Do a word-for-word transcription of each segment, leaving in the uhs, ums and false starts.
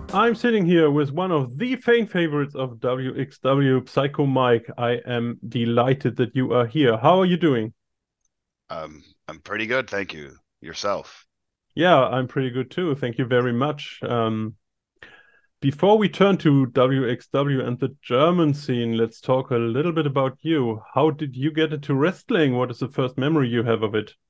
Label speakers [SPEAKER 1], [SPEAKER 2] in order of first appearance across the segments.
[SPEAKER 1] I'm sitting here with one of the fan favorites of W X W, Psycho Mike. I am delighted that you are here. How are you doing?
[SPEAKER 2] Um, I'm pretty good, thank you. Yourself?
[SPEAKER 1] Yeah, I'm pretty good too. Thank you very much. Um, before we turn to W X W and the German scene, let's talk a little bit about you. How did you get into wrestling? What is the first memory you have of it?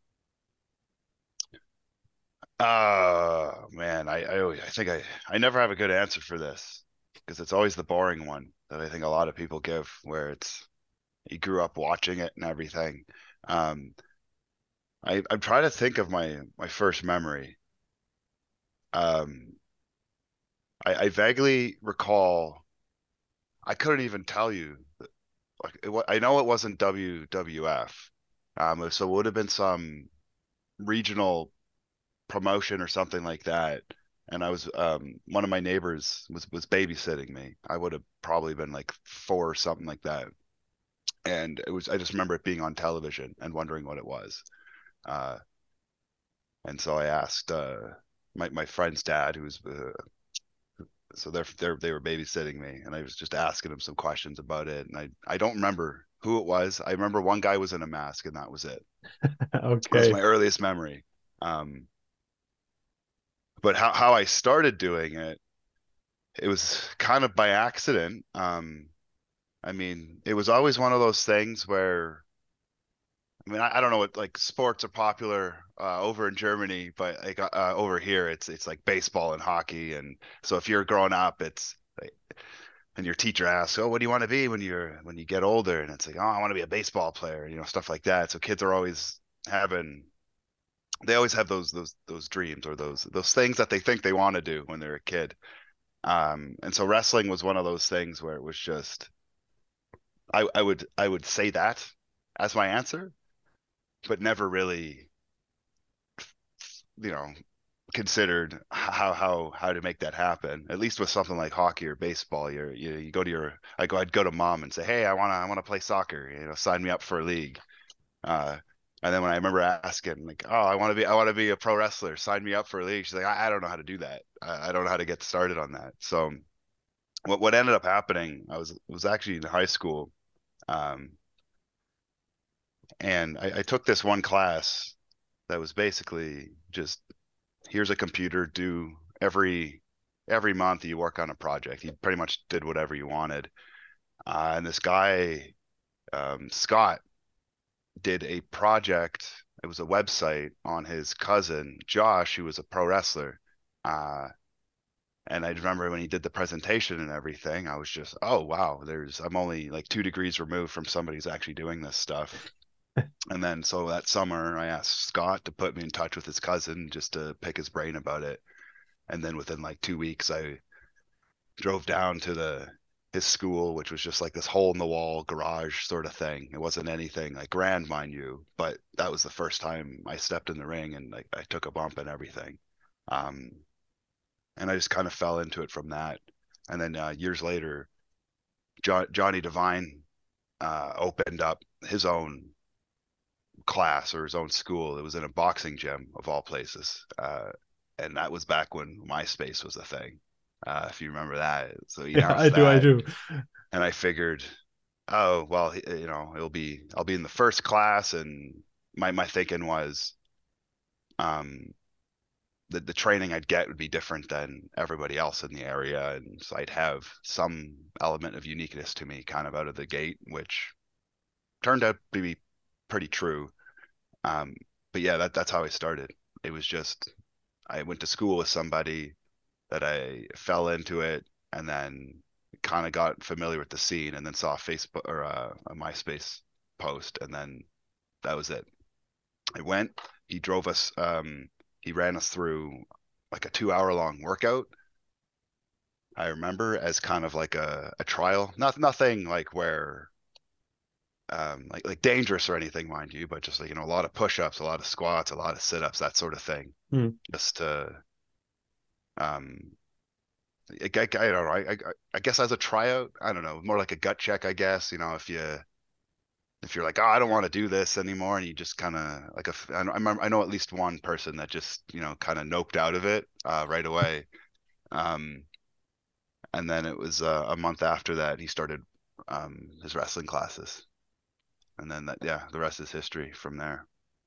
[SPEAKER 2] Uh, man, I I, always, I think I I never have a good answer for this because it's always the boring one that I think a lot of people give, where it's you grew up watching it and everything. Um, I I'm trying to think of my my first memory. Um, I, I vaguely recall. I couldn't even tell you. Like it, wa- I know it wasn't W W F. Um, so it would have been some regional promotion or something like that. And I was um one of my neighbors was was babysitting me. I would have probably been like four or something like that. And it was I just remember it being on television and wondering what it was. Uh and so I asked uh my my friend's dad, who was uh, so they're, they're they were babysitting me, and I was just asking him some questions about it, and I I don't remember who it was. I remember one guy was in a mask, and that was it. That was
[SPEAKER 1] Okay.
[SPEAKER 2] my earliest memory. Um but how how I started doing it, it was kind of by accident. Um, I mean, it was always one of those things where, I mean, I, I don't know what like sports are popular uh, over in Germany, but like uh, uh, over here, it's it's like baseball and hockey, and so if you're growing up, it's like, and your teacher asks, "Oh, what do you want to be when you're when you get older?" And it's like, "Oh, I want to be a baseball player," you know, stuff like that. So kids are always having, they always have those those those dreams or those those things that they think they want to do when they're a kid. Um, and so wrestling was one of those things where it was just I, I would I would say that as my answer, but never really, you know, considered how how how to make that happen. At least with something like hockey or baseball, you're you you go to your I go I'd go to mom and say, hey, I wanna I wanna play soccer, you know, sign me up for a league. Uh, and then when I remember asking, like, oh, I want to be I want to be a pro wrestler, sign me up for a league. She's like, I, I don't know how to do that. I, I don't know how to get started on that. So what what ended up happening, I was was actually in high school. Um, and I, I took this one class that was basically just here's a computer, do every every month you work on a project. You pretty much did whatever you wanted. Uh, and this guy, um, Scott, did a project. It was a website on his cousin Josh, who was a pro wrestler. Uh, and I remember when he did the presentation and everything, I was just, oh wow, there's I'm only like two degrees removed from somebody who's actually doing this stuff. And then so that summer, I asked Scott to put me in touch with his cousin just to pick his brain about it. And then within like two weeks, I drove down to the his school, which was just like this hole in the wall garage sort of thing. It wasn't anything like grand, mind you, but that was the first time I stepped in the ring and like I took a bump and everything. Um, and I just kind of fell into it from that. And then uh, years later, jo- Johnny Devine uh, opened up his own class or his own school. It was in a boxing gym of all places. Uh, and that was back when MySpace was a thing. Uh, if you remember that. So he
[SPEAKER 1] Yeah, I
[SPEAKER 2] announced
[SPEAKER 1] do, I
[SPEAKER 2] that,
[SPEAKER 1] do.
[SPEAKER 2] and I figured, oh, well, you know, it'll be I'll be in the first class, and my my thinking was, um, the the training I'd get would be different than everybody else in the area, and so I'd have some element of uniqueness to me, kind of out of the gate, which turned out to be pretty true. Um, but yeah, that that's how I started. It was just I went to school with somebody that I fell into it, and then kind of got familiar with the scene, and then saw a Facebook or a, a MySpace post, and then that was it. I went. He drove us. Um, he ran us through like a two hour long workout. I remember as kind of like a, a trial. Not nothing like where um like like dangerous or anything, mind you, but just like you know a lot of push ups, a lot of squats, a lot of sit ups, that sort of thing.
[SPEAKER 1] Hmm.
[SPEAKER 2] Just to um I, I, I don't know. I, I I guess as a tryout, I don't know, more like a gut check, I guess. You know, if you if you're like, oh, I don't want to do this anymore, and you just kind of like a, I know, I remember, I know at least one person that just you know kind of noped out of it uh, right away. Um, And then it was uh, a month after that he started um, his wrestling classes. And then that, yeah, the rest is history from there.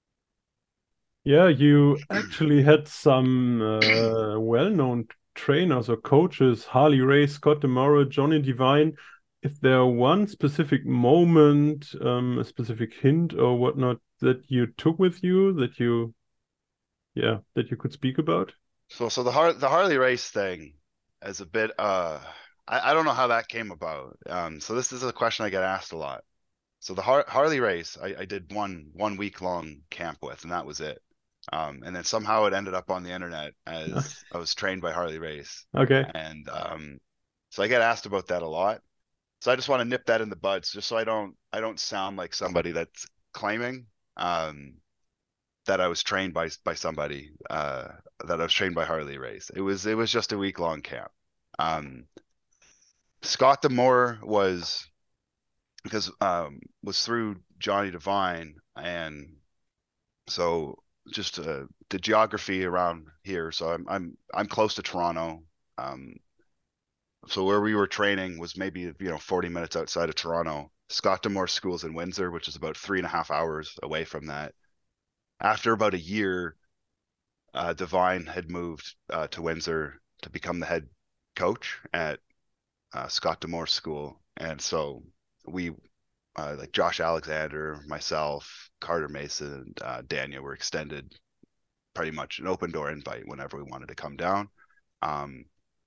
[SPEAKER 1] Yeah, you actually had some uh, well-known trainers or coaches, Harley Race, Scott D'Amore, Johnny Devine. Is there one specific moment, um, a specific hint or whatnot that you took with you that you, yeah, that you could speak about?
[SPEAKER 2] So so the Har the Harley race thing is a bit uh I, I don't know how that came about. Um so this is a question I get asked a lot. So the Har Harley race I, I did one one week long camp with, and that was it. Um and then somehow it ended up on the internet as I was trained by Harley Race.
[SPEAKER 1] Okay.
[SPEAKER 2] And um so I get asked about that a lot. So I just want to nip that in the buds just so I don't I don't sound like somebody that's claiming um that I was trained by by somebody uh, that I was trained by Harley Race. It was it was just a week long camp. Um, Scott D'Amore was because um, was through Johnny Devine, and so just uh, the geography around here. So I'm I'm I'm close to Toronto. Um, so where we were training was maybe you know forty minutes outside of Toronto. Scott D'Amore School's in Windsor, which is about three and a half hours away from that. After about a year, uh, Devine had moved uh, to Windsor to become the head coach at uh, Scott D'Amore School, and so we, uh, like Josh Alexander, myself, Carter Mason, uh, Daniel, were extended pretty much an open door invite whenever we wanted to come down. Um,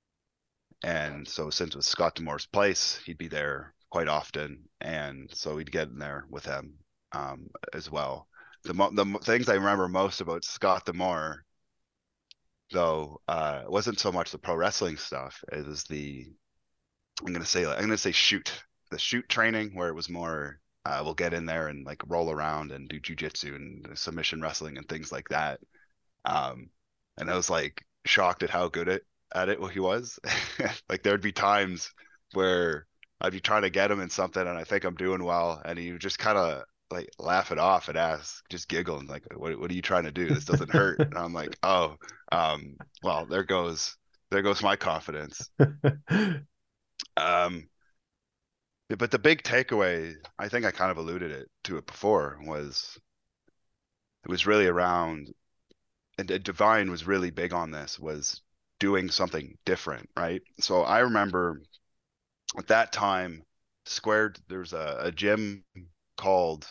[SPEAKER 2] and so since it was Scott D'Amore's place, he'd be there quite often, and so we'd get in there with him um, as well. The, mo- the things I remember most about Scott D'Amore though uh it wasn't so much the pro wrestling stuff. It was the I'm gonna say I'm gonna say shoot the shoot training where it was more uh we'll get in there and like roll around and do jujitsu and submission wrestling and things like that. Um and I was like shocked at how good it at it he was. Like there'd be times where I'd be trying to get him in something and I think I'm doing well and he would just kind of like laugh it off and ask, just giggle and like, what what are you trying to do? This doesn't hurt. And I'm like, oh, um, well, there goes there goes my confidence. Um, but the big takeaway, I think I kind of alluded it to it before, was it was really around, and Divine was really big on this, was doing something different, right? So I remember at that time, Squared, there's a, a gym called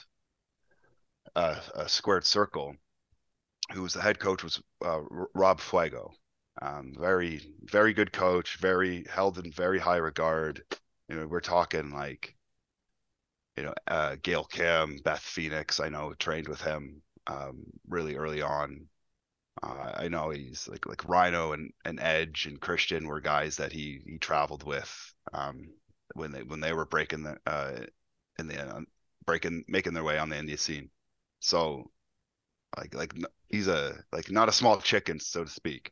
[SPEAKER 2] uh, a Squared Circle, who was the head coach was uh, Rob Fuego. Um, very, very good coach, very held in very high regard. You know, we're talking like, you know, uh, Gail Kim, Beth Phoenix, I know trained with him um, really early on. Uh, I know he's like like Rhino and, and Edge and Christian were guys that he he traveled with um, when they when they were breaking the uh, in the uh, breaking making their way on the India scene. So like like he's a like not a small chicken, so to speak.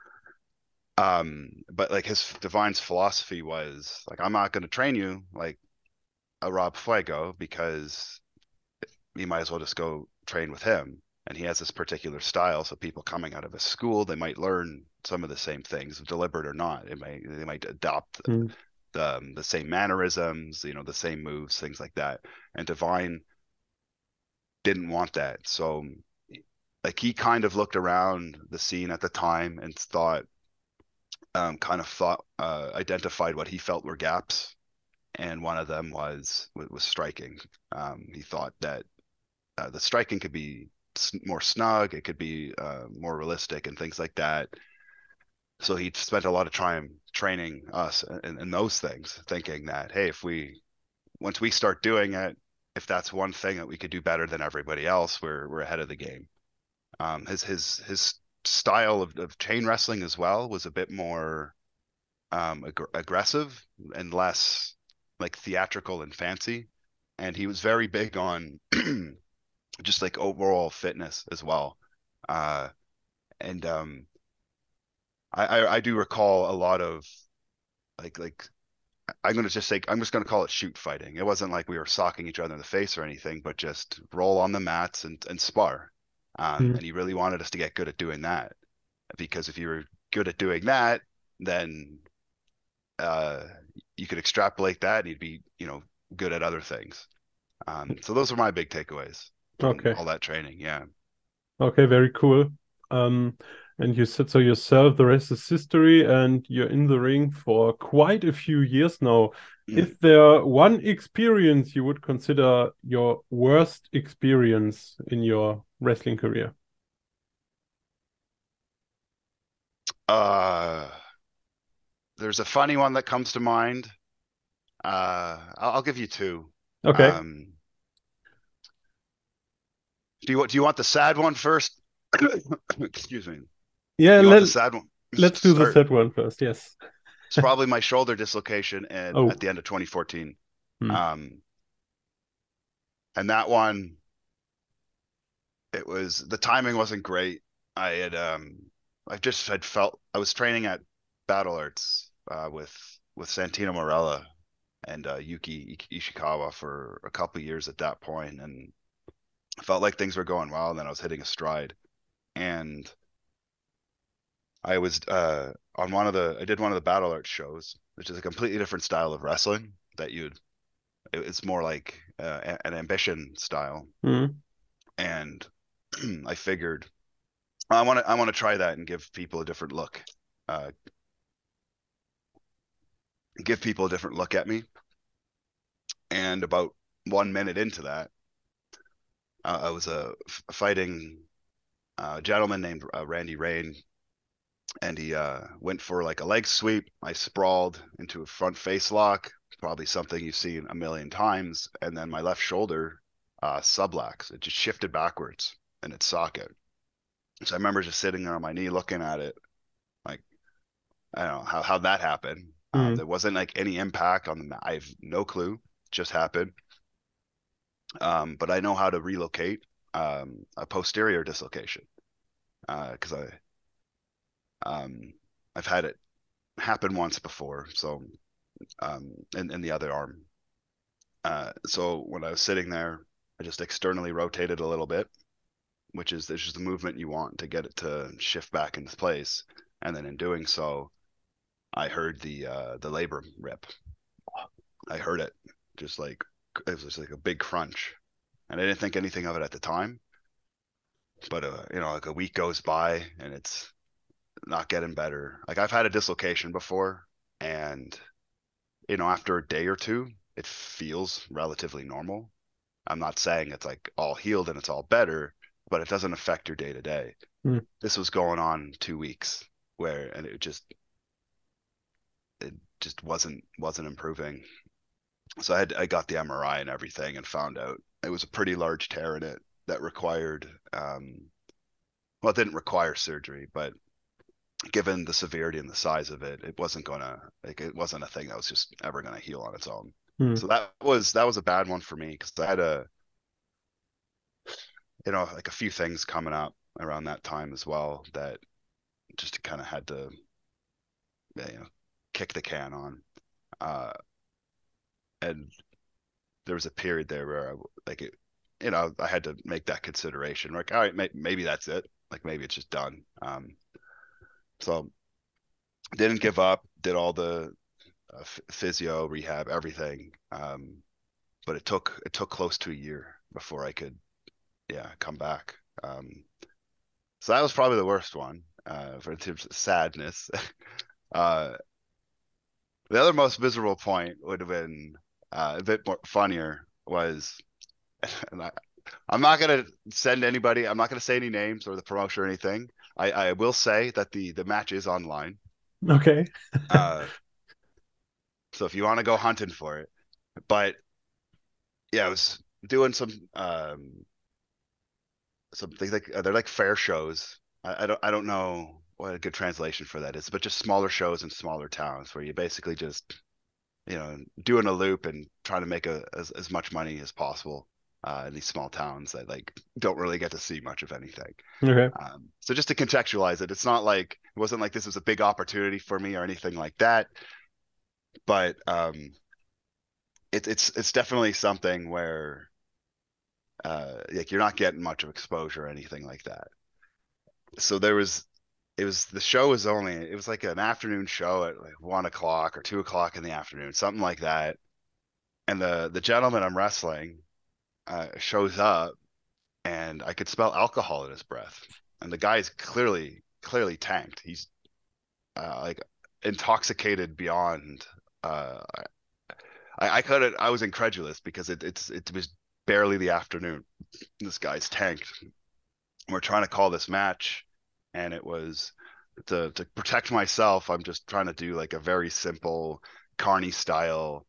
[SPEAKER 2] Um, but like his Divine's philosophy was like, I'm not going to train you like a Rob Fuego because you might as well just go train with him. And he has this particular style, so people coming out of his school, they might learn some of the same things, deliberate or not. It may they might adopt
[SPEAKER 1] Mm.
[SPEAKER 2] the um, the same mannerisms, you know, the same moves, things like that. And Divine didn't want that, so like he kind of looked around the scene at the time and thought, um, kind of thought, uh, identified what he felt were gaps, and one of them was was striking. Um, he thought that uh, the striking could be more snug, it could be uh, more realistic, and things like that. So he spent a lot of time training us in, in those things, thinking that hey, if we once we start doing it, if that's one thing that we could do better than everybody else, we're we're ahead of the game. Um, his his his style of, of chain wrestling as well was a bit more um, ag aggressive and less like theatrical and fancy. And he was very big on just like overall fitness as well. Uh, and um, I, I, I do recall a lot of like like I'm gonna just say I'm just gonna call it shoot fighting. It wasn't like we were socking each other in the face or anything, but just roll on the mats and, and spar. Um,
[SPEAKER 1] Mm.
[SPEAKER 2] and he really wanted us to get good at doing that because if you were good at doing that, then uh, you could extrapolate that and you'd be, you know, good at other things. Um, so those are my big takeaways from
[SPEAKER 1] Okay.
[SPEAKER 2] all that training. Yeah.
[SPEAKER 1] Okay, very cool. Um, and you said so yourself, the rest is history, and you're in the ring for quite a few years now. Is
[SPEAKER 2] Mm.
[SPEAKER 1] there one experience you would consider your worst experience in your wrestling career?
[SPEAKER 2] Uh, there's a funny one that comes to mind. Uh, I'll, I'll give you two.
[SPEAKER 1] Okay.
[SPEAKER 2] Um, do you want do you want the sad one first? Excuse me.
[SPEAKER 1] Yeah,
[SPEAKER 2] You want
[SPEAKER 1] let,
[SPEAKER 2] the sad one?
[SPEAKER 1] let's do the
[SPEAKER 2] Start.
[SPEAKER 1] set one first. Yes.
[SPEAKER 2] It's probably my shoulder dislocation and at
[SPEAKER 1] Oh.
[SPEAKER 2] the end of twenty fourteen.
[SPEAKER 1] Hmm.
[SPEAKER 2] Um, and that one, it was the timing wasn't great. I had um, I just had felt I was training at Battle Arts uh, with with Santino Marella and uh, Yuki Ishikawa for a couple years at that point, and I felt like things were going well. And then I was hitting a stride, and I was uh, on one of the I did one of the Battle Arts shows, which is a completely different style of wrestling that you'd it's more like uh, an ambition style,
[SPEAKER 1] Hmm.
[SPEAKER 2] and I figured I want to I want to try that and give people a different look, uh, give people a different look at me. And about one minute into that, uh, I was uh, f- fighting a gentleman named uh, Randy Rain, and he uh, went for like a leg sweep. I sprawled into a front face lock, probably something you've seen a million times, and then my left shoulder uh, subluxed. It just shifted backwards in its socket. So I remember just sitting there on my knee looking at it, like I don't know how how that happened. Um,
[SPEAKER 1] Hmm.
[SPEAKER 2] there wasn't like any impact on the. ma- I have no clue. It just happened. Um, but I know how to relocate um, a posterior dislocation because uh, I um, I've had it happen once before. So um, in in the other arm. Uh, so when I was sitting there, I just externally rotated a little bit, which is this is the movement you want to get it to shift back into place. And then in doing so, I heard the uh, the labrum rip. I heard it just like it was just like a big crunch, and I didn't think anything of it at the time. But uh, you know, like a week goes by and it's not getting better. Like I've had a dislocation before, and you know, after a day or two, it feels relatively normal. I'm not saying it's like all healed and it's all better, but it doesn't affect your day to day.
[SPEAKER 1] Hmm.
[SPEAKER 2] This was going on two weeks where, and it just it just wasn't wasn't improving. So I had I got the M R I and everything and found out it was a pretty large tear in it that required um well it didn't require surgery, but given the severity and the size of it, it wasn't gonna like it wasn't a thing that was just ever gonna heal on its own.
[SPEAKER 1] Hmm.
[SPEAKER 2] So that was that was a bad one for me because I had a you know like a few things coming up around that time as well that just kind of had to you know kick the can on. Uh, and there was a period there where I like it, you know, I had to make that consideration. Like, all right, may, maybe that's it. Like maybe it's just done. Um, so didn't give up. Did all the uh, physio, rehab, everything. Um, but it took it took close to a year before I could, yeah, come back. Um, so that was probably the worst one uh, for in terms of sadness. uh, the other most miserable point would have been uh, a bit more funnier was, and I, I'm not gonna send anybody. I'm not gonna say any names or the promotion or anything. I, I will say that the the match is online.
[SPEAKER 1] Okay.
[SPEAKER 2] Uh, so if you want to go hunting for it, but yeah, I was doing some um some things like uh, they're like fair shows. I, I don't I don't know what a good translation for that is, but just smaller shows in smaller towns where you basically just you know doing a loop and trying to make a, as as much money as possible uh, in these small towns that like don't really get to see much of anything.
[SPEAKER 1] Okay.
[SPEAKER 2] Um, so just to contextualize it, it's not like it wasn't like this was a big opportunity for me or anything like that, but um, it, it's it's definitely something where uh, like you're not getting much of exposure or anything like that. So there was it was the show was only it was like an afternoon show at like one o'clock or two o'clock in the afternoon, something like that. And the the gentleman I'm wrestling uh, shows up, and I could smell alcohol in his breath. And the guy's clearly clearly tanked. He's uh, like intoxicated beyond. Uh, I I couldn't. I was incredulous because it it's it was barely the afternoon. This guy's tanked. We're trying to call this match, and it was to to protect myself. I'm just trying to do like a very simple Carney style,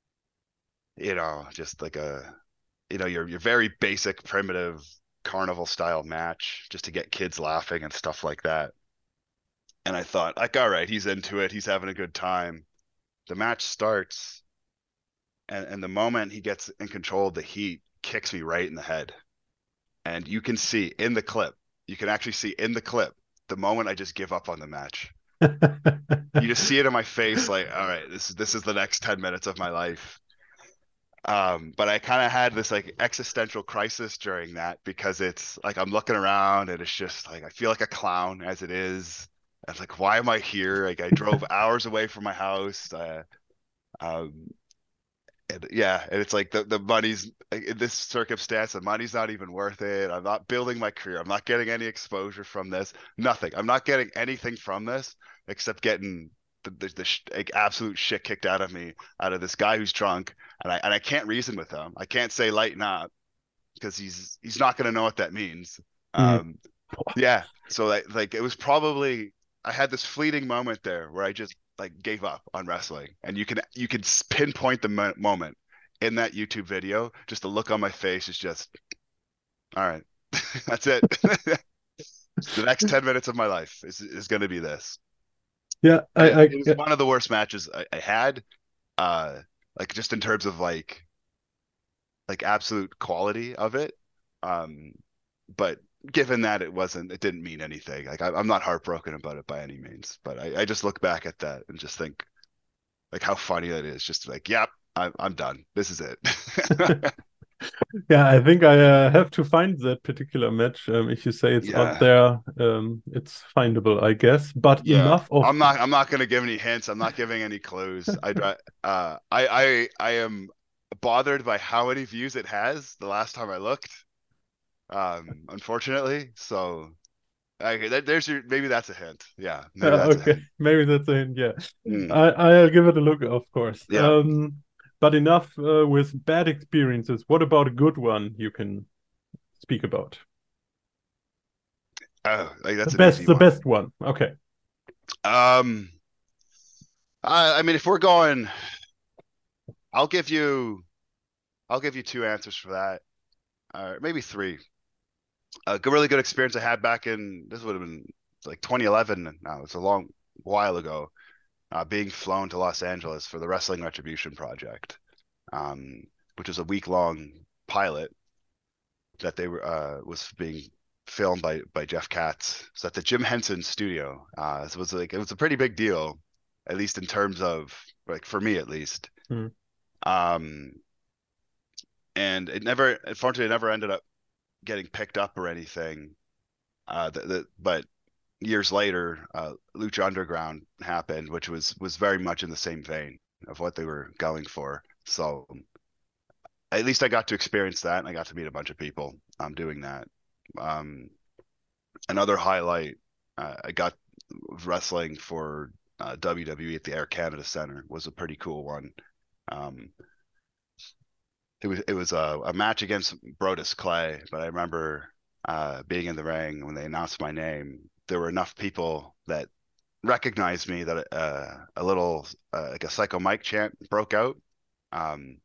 [SPEAKER 2] you know, just like a you know your your very basic primitive carnival style match just to get kids laughing and stuff like that. And I thought, like, all right, he's into it. He's having a good time. The match starts, and, and the moment he gets in control of the heat, kicks me right in the head. And you can see in the clip, you can actually see in the clip, the moment I just give up on the match. You just see it in my face, like, all right, this is this is the next ten minutes of my life. Um, but I kind of had this like existential crisis during that because it's like I'm looking around and it's just like I feel like a clown as it is. I was like, why am I here? Like I drove hours away from my house. Uh, um, and yeah, and it's like the the money's like, in this circumstance, the money's not even worth it. I'm not building my career. I'm not getting any exposure from this. Nothing. I'm not getting anything from this except getting the the, the sh- like, absolute shit kicked out of me out of this guy who's drunk, and I and I can't reason with him. I can't say lighten up because he's he's not going to know what that means.
[SPEAKER 1] Mm.
[SPEAKER 2] Um, yeah. So like like it was probably I had this fleeting moment there where I just like gave up on wrestling, and you can you can s- pinpoint the mo moment in that YouTube video. Just the look on my face is just all right. That's it. The next ten minutes of my life is is going to be this.
[SPEAKER 1] Yeah,
[SPEAKER 2] And
[SPEAKER 1] I,
[SPEAKER 2] it,
[SPEAKER 1] I
[SPEAKER 2] it was
[SPEAKER 1] yeah.
[SPEAKER 2] one of the worst matches I, I had. Uh, like just in terms of like like absolute quality of it. Um, but given that it wasn't, it didn't mean anything. Like I, I'm not heartbroken about it by any means, but I, I just look back at that and just think like how funny that is. Just like, yep, I'm I'm done. This is it.
[SPEAKER 1] Yeah, I think I uh, have to find that particular match. Um, if you say it's out
[SPEAKER 2] Yeah,
[SPEAKER 1] there, um, it's findable, I guess. But
[SPEAKER 2] yeah.
[SPEAKER 1] enough of
[SPEAKER 2] I'm not I'm not gonna give any hints. I'm not giving any clues. I dri- uh I I I am bothered by how many views it has the last time I looked. Um, unfortunately, so okay, there, there's your maybe that's a hint. Yeah, maybe
[SPEAKER 1] Uh,
[SPEAKER 2] that's a
[SPEAKER 1] okay,
[SPEAKER 2] hint.
[SPEAKER 1] maybe that's a hint. Yeah,
[SPEAKER 2] Mm,
[SPEAKER 1] I I'll give it a look, of course.
[SPEAKER 2] yeah.
[SPEAKER 1] Um, but enough uh, with bad experiences. What about a good one you can speak about?
[SPEAKER 2] Oh, like
[SPEAKER 1] The
[SPEAKER 2] that's an
[SPEAKER 1] best,
[SPEAKER 2] easy
[SPEAKER 1] the
[SPEAKER 2] one.
[SPEAKER 1] best one. Okay.
[SPEAKER 2] Um, I, I mean, if we're going, I'll give you, I'll give you two answers for that, or maybe three. A good, really good experience I had back in this would have been like twenty eleven. Now it's a long while ago. Uh, being flown to Los Angeles for the Wrestling Retribution project, um, which was a week long pilot that they were uh, was being filmed by by Jeff Katz. So at the Jim Henson studio. Uh, so it was like it was a pretty big deal, at least in terms of like for me at least.
[SPEAKER 1] Hmm.
[SPEAKER 2] Um, and it never, unfortunately, it never ended up getting picked up or anything. Uh, the, the, but years later, uh, Lucha Underground happened, which was was very much in the same vein of what they were going for. So at least I got to experience that, and I got to meet a bunch of people um, doing that. Um, another highlight, uh, I got wrestling for uh, W W E at the Air Canada Center was a pretty cool one. Um, it was it was a, a match against Brodus Clay, but I remember uh, being in the ring when they announced my name. There were enough people that recognized me that uh, a little uh, like a Psycho Mike chant broke out, um,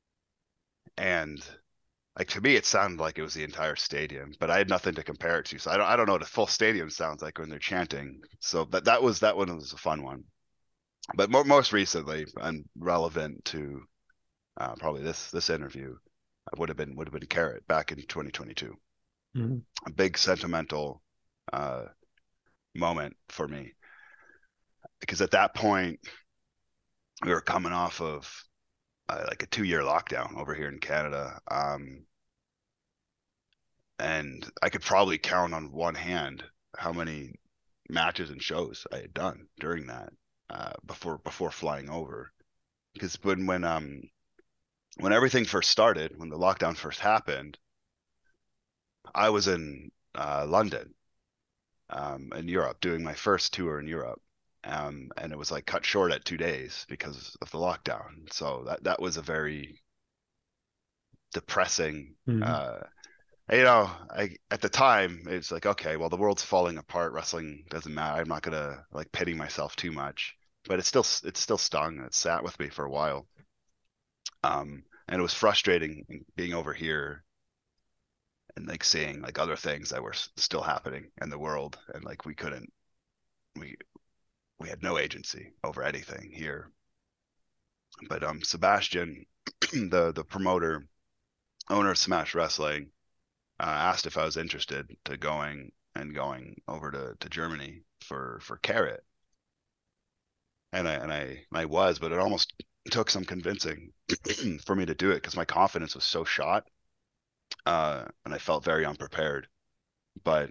[SPEAKER 2] and like to me it sounded like it was the entire stadium, but I had nothing to compare it to, so I don't I don't know what a full stadium sounds like when they're chanting. So that that was that one was a fun one. But more, most recently and relevant to uh, probably this this interview would have been would have been Carrot back in twenty twenty-two.
[SPEAKER 1] Hmm.
[SPEAKER 2] A big sentimental uh, moment for me because at that point we were coming off of uh, like a two year lockdown over here in Canada, um, and I could probably count on one hand how many matches and shows I had done during that uh, before before flying over. Because when when um when everything first started, when the lockdown first happened, I was in uh, London, um, in Europe, doing my first tour in Europe. Um, and it was like cut short at two days because of the lockdown. So that that was a very depressing.
[SPEAKER 1] Mm.
[SPEAKER 2] Uh, you know, I at the time it's like, okay, well the world's falling apart. Wrestling doesn't matter. I'm not gonna like pity myself too much, but it still it still stung. It sat with me for a while. Um, and it was frustrating being over here and like seeing like other things that were s- still happening in the world, and like we couldn't we we had no agency over anything here. But um, Sebastian, the the promoter, owner of Smash Wrestling, uh, asked if I was interested to going and going over to, to Germany for for Carrot, and I and I and I was, but it almost took some convincing for me to do it because my confidence was so shot, uh, and I felt very unprepared. But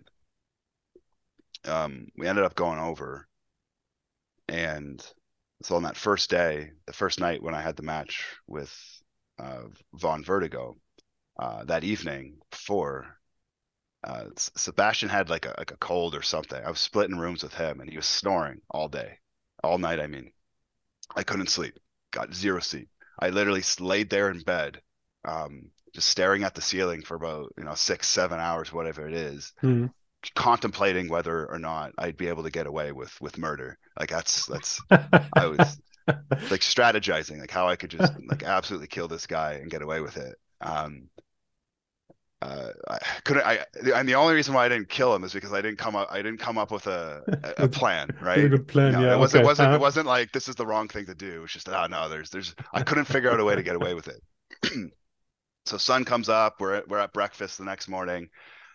[SPEAKER 2] um, we ended up going over, and so on that first day, the first night when I had the match with uh, Von Vertigo, uh, that evening before, uh, Sebastian had like a like a cold or something. I was splitting rooms with him, and he was snoring all day, all night. I mean, I couldn't sleep, got zero sleep. I literally laid there in bed, um, just staring at the ceiling for about you know six, seven hours, whatever it is,
[SPEAKER 1] Mm.
[SPEAKER 2] contemplating whether or not I'd be able to get away with with murder. Like that's that's I was like strategizing, like how I could just like absolutely kill this guy and get away with it. Um, uh, I couldn't. I and the only reason why I didn't kill him is because I didn't come up. I didn't come up with a a
[SPEAKER 1] with
[SPEAKER 2] plan,
[SPEAKER 1] with a
[SPEAKER 2] right?
[SPEAKER 1] good plan,
[SPEAKER 2] No,
[SPEAKER 1] yeah.
[SPEAKER 2] it wasn't. It
[SPEAKER 1] Okay.
[SPEAKER 2] wasn't. It
[SPEAKER 1] Uh,
[SPEAKER 2] wasn't like this is the wrong thing to do. It's just oh no, there's there's. I couldn't figure out a way to get away with it. So sun comes up. We're at, we're at breakfast the next morning.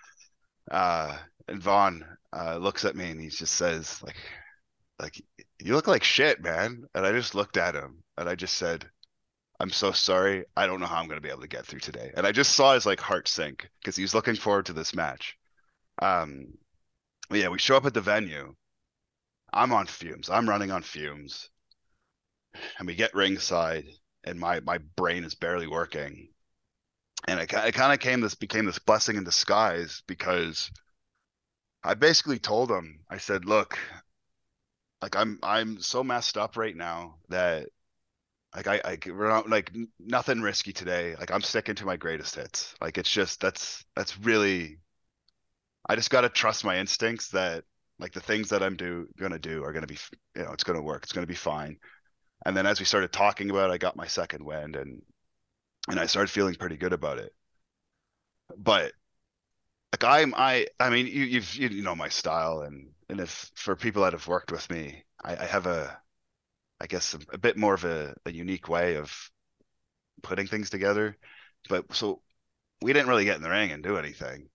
[SPEAKER 2] Uh, and Vaughn uh, looks at me and he just says like like you look like shit, man. And I just looked at him and I just said, I'm so sorry. I don't know how I'm going to be able to get through today. And I just saw his like heart sink because he's looking forward to this match. Um, but yeah, we show up at the venue. I'm on fumes. I'm running on fumes, and we get ringside, and my my brain is barely working. And it, it kind of came this became this blessing in disguise because I basically told him, I said, look, like I'm I'm so messed up right now that like I I we're not like nothing risky today. Like I'm sticking to my greatest hits. Like it's just that's that's really I just got to trust my instincts that like the things that I'm do gonna do are gonna be you know it's gonna work. It's gonna be fine. And then as we started talking about it, I got my second wind and and I started feeling pretty good about it. But like I'm I I mean you you've you know my style and and if for people that have worked with me, I, I have a I guess a, a bit more of a, a unique way of putting things together. But so we didn't really get in the ring and do anything.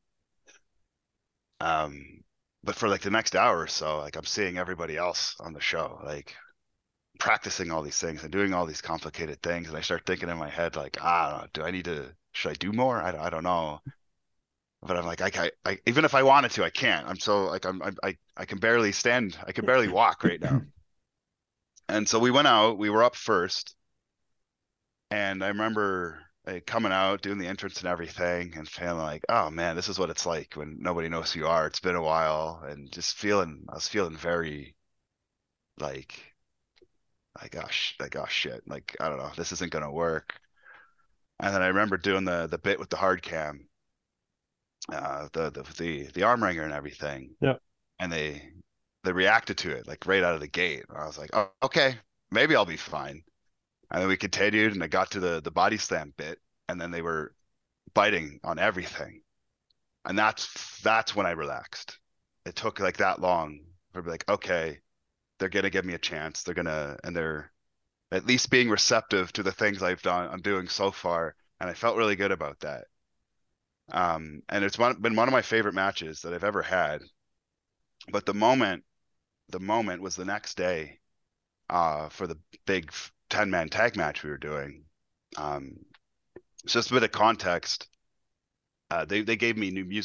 [SPEAKER 2] Um, but for like the next hour or so, like I'm seeing everybody else on the show, like practicing all these things and doing all these complicated things. And I start thinking in my head, like, I don't know, do I need to, should I do more? I, I don't know. But I'm like, I, I, I, even if I wanted to, I can't. I'm so like, I'm, I'm, I, I can barely stand. I can barely walk right now. And so we went out, we were up first. And I remember like, coming out, doing the entrance and everything, and feeling like, oh man, this is what it's like when nobody knows who you are. It's been a while, and just feeling, I was feeling very like, like oh, sh- like oh shit, like I don't know, this isn't gonna work. And then I remember doing the the bit with the hard cam, uh, the the the the arm wringer and everything,
[SPEAKER 1] yeah.
[SPEAKER 2] and they they reacted to it like right out of the gate. I was like, oh, okay, maybe I'll be fine. And then we continued, and I got to the the body slam bit, and then they were biting on everything. And that's that's when I relaxed. It took like that long for be like, okay, they're gonna give me a chance. They're gonna and they're at least being receptive to the things I've done I'm doing so far. And I felt really good about that. Um, and it's one, been one of my favorite matches that I've ever had. But the moment, the moment was the next day, uh, for the big ten man tag match we were doing. Um, so just a bit of context. Uh, they they gave me new music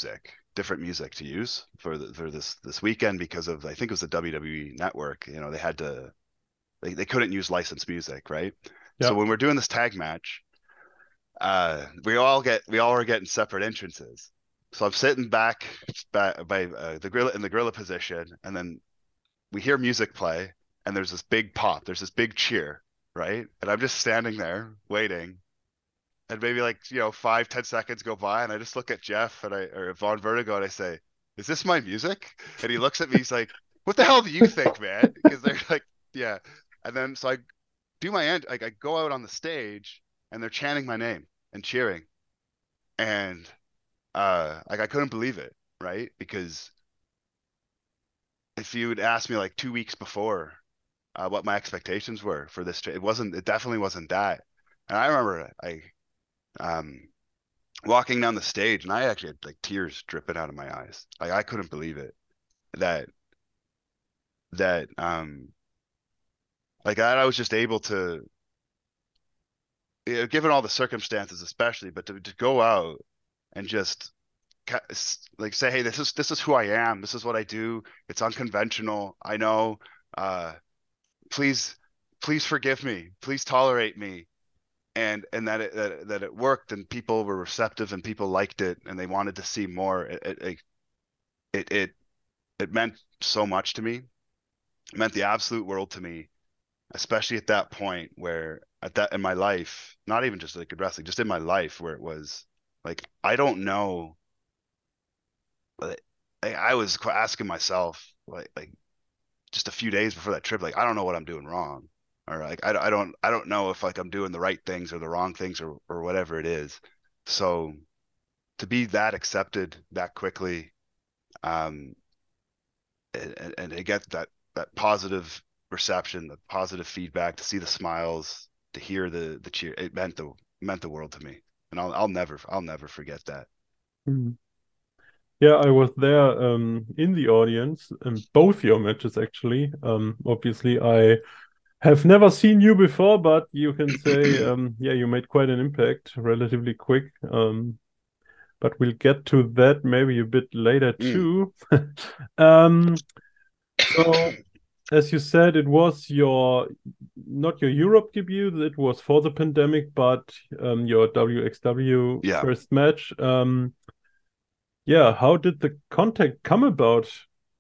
[SPEAKER 2] different music to use for the, for this this weekend because of I think it was the W W E Network. You know, they had to they, they couldn't use licensed music, right? So
[SPEAKER 1] Yeah.
[SPEAKER 2] when we're doing this tag match, uh, we all get we all are getting separate entrances. So I'm sitting back by, by uh, the gorilla in the gorilla position, and then we hear music play, and there's this big pop, there's this big cheer, right? And I'm just standing there waiting, and maybe like you know five ten seconds go by, and I just look at Jeff and I or Von Vertigo, and I say, "Is this my music?" And he looks at me, he's like, "What the hell do you think, man?" Because they're like, "Yeah," and then so I do my end, like I go out on the stage, and they're chanting my name and cheering, and uh, like I couldn't believe it, right? Because if you had asked me like two weeks before uh, what my expectations were for this, it wasn't, it definitely wasn't that. And I remember I um walking down the stage, and I actually had like tears dripping out of my eyes. Like I couldn't believe it that that um like that I was just able to, you know, given all the circumstances, especially, but to, to go out and just like say, hey, this is this is who I am. This is what I do. It's unconventional. I know. Uh, please, please forgive me. Please tolerate me. And and that it that, that it worked, and people were receptive, and people liked it, and they wanted to see more. It it it it, it meant so much to me. It meant the absolute world to me, especially at that point where at that in my life, not even just like wrestling, just in my life where it was like I don't know. Like, I was asking myself like like just a few days before that trip, like I don't know what I'm doing wrong, or like I, I don't I don't know if like I'm doing the right things or the wrong things or or whatever it is. So to be that accepted that quickly, um, and, and to get that that positive reception, the positive feedback, to see the smiles, to hear the the cheer, it meant the meant the world to me, and I'll I'll never I'll never forget that.
[SPEAKER 1] Mhm. Yeah, I was there um, in the audience in both your matches actually. Um, obviously, I have never seen you before, but you can say, um, yeah, you made quite an impact relatively quick. Um, but we'll get to that maybe a bit later
[SPEAKER 2] Mm.
[SPEAKER 1] too. Um, so as you said, it was your not your Europe debut, it was for the pandemic, but um, your W X W
[SPEAKER 2] Yeah,
[SPEAKER 1] first match. Um, yeah, how did the contact come about?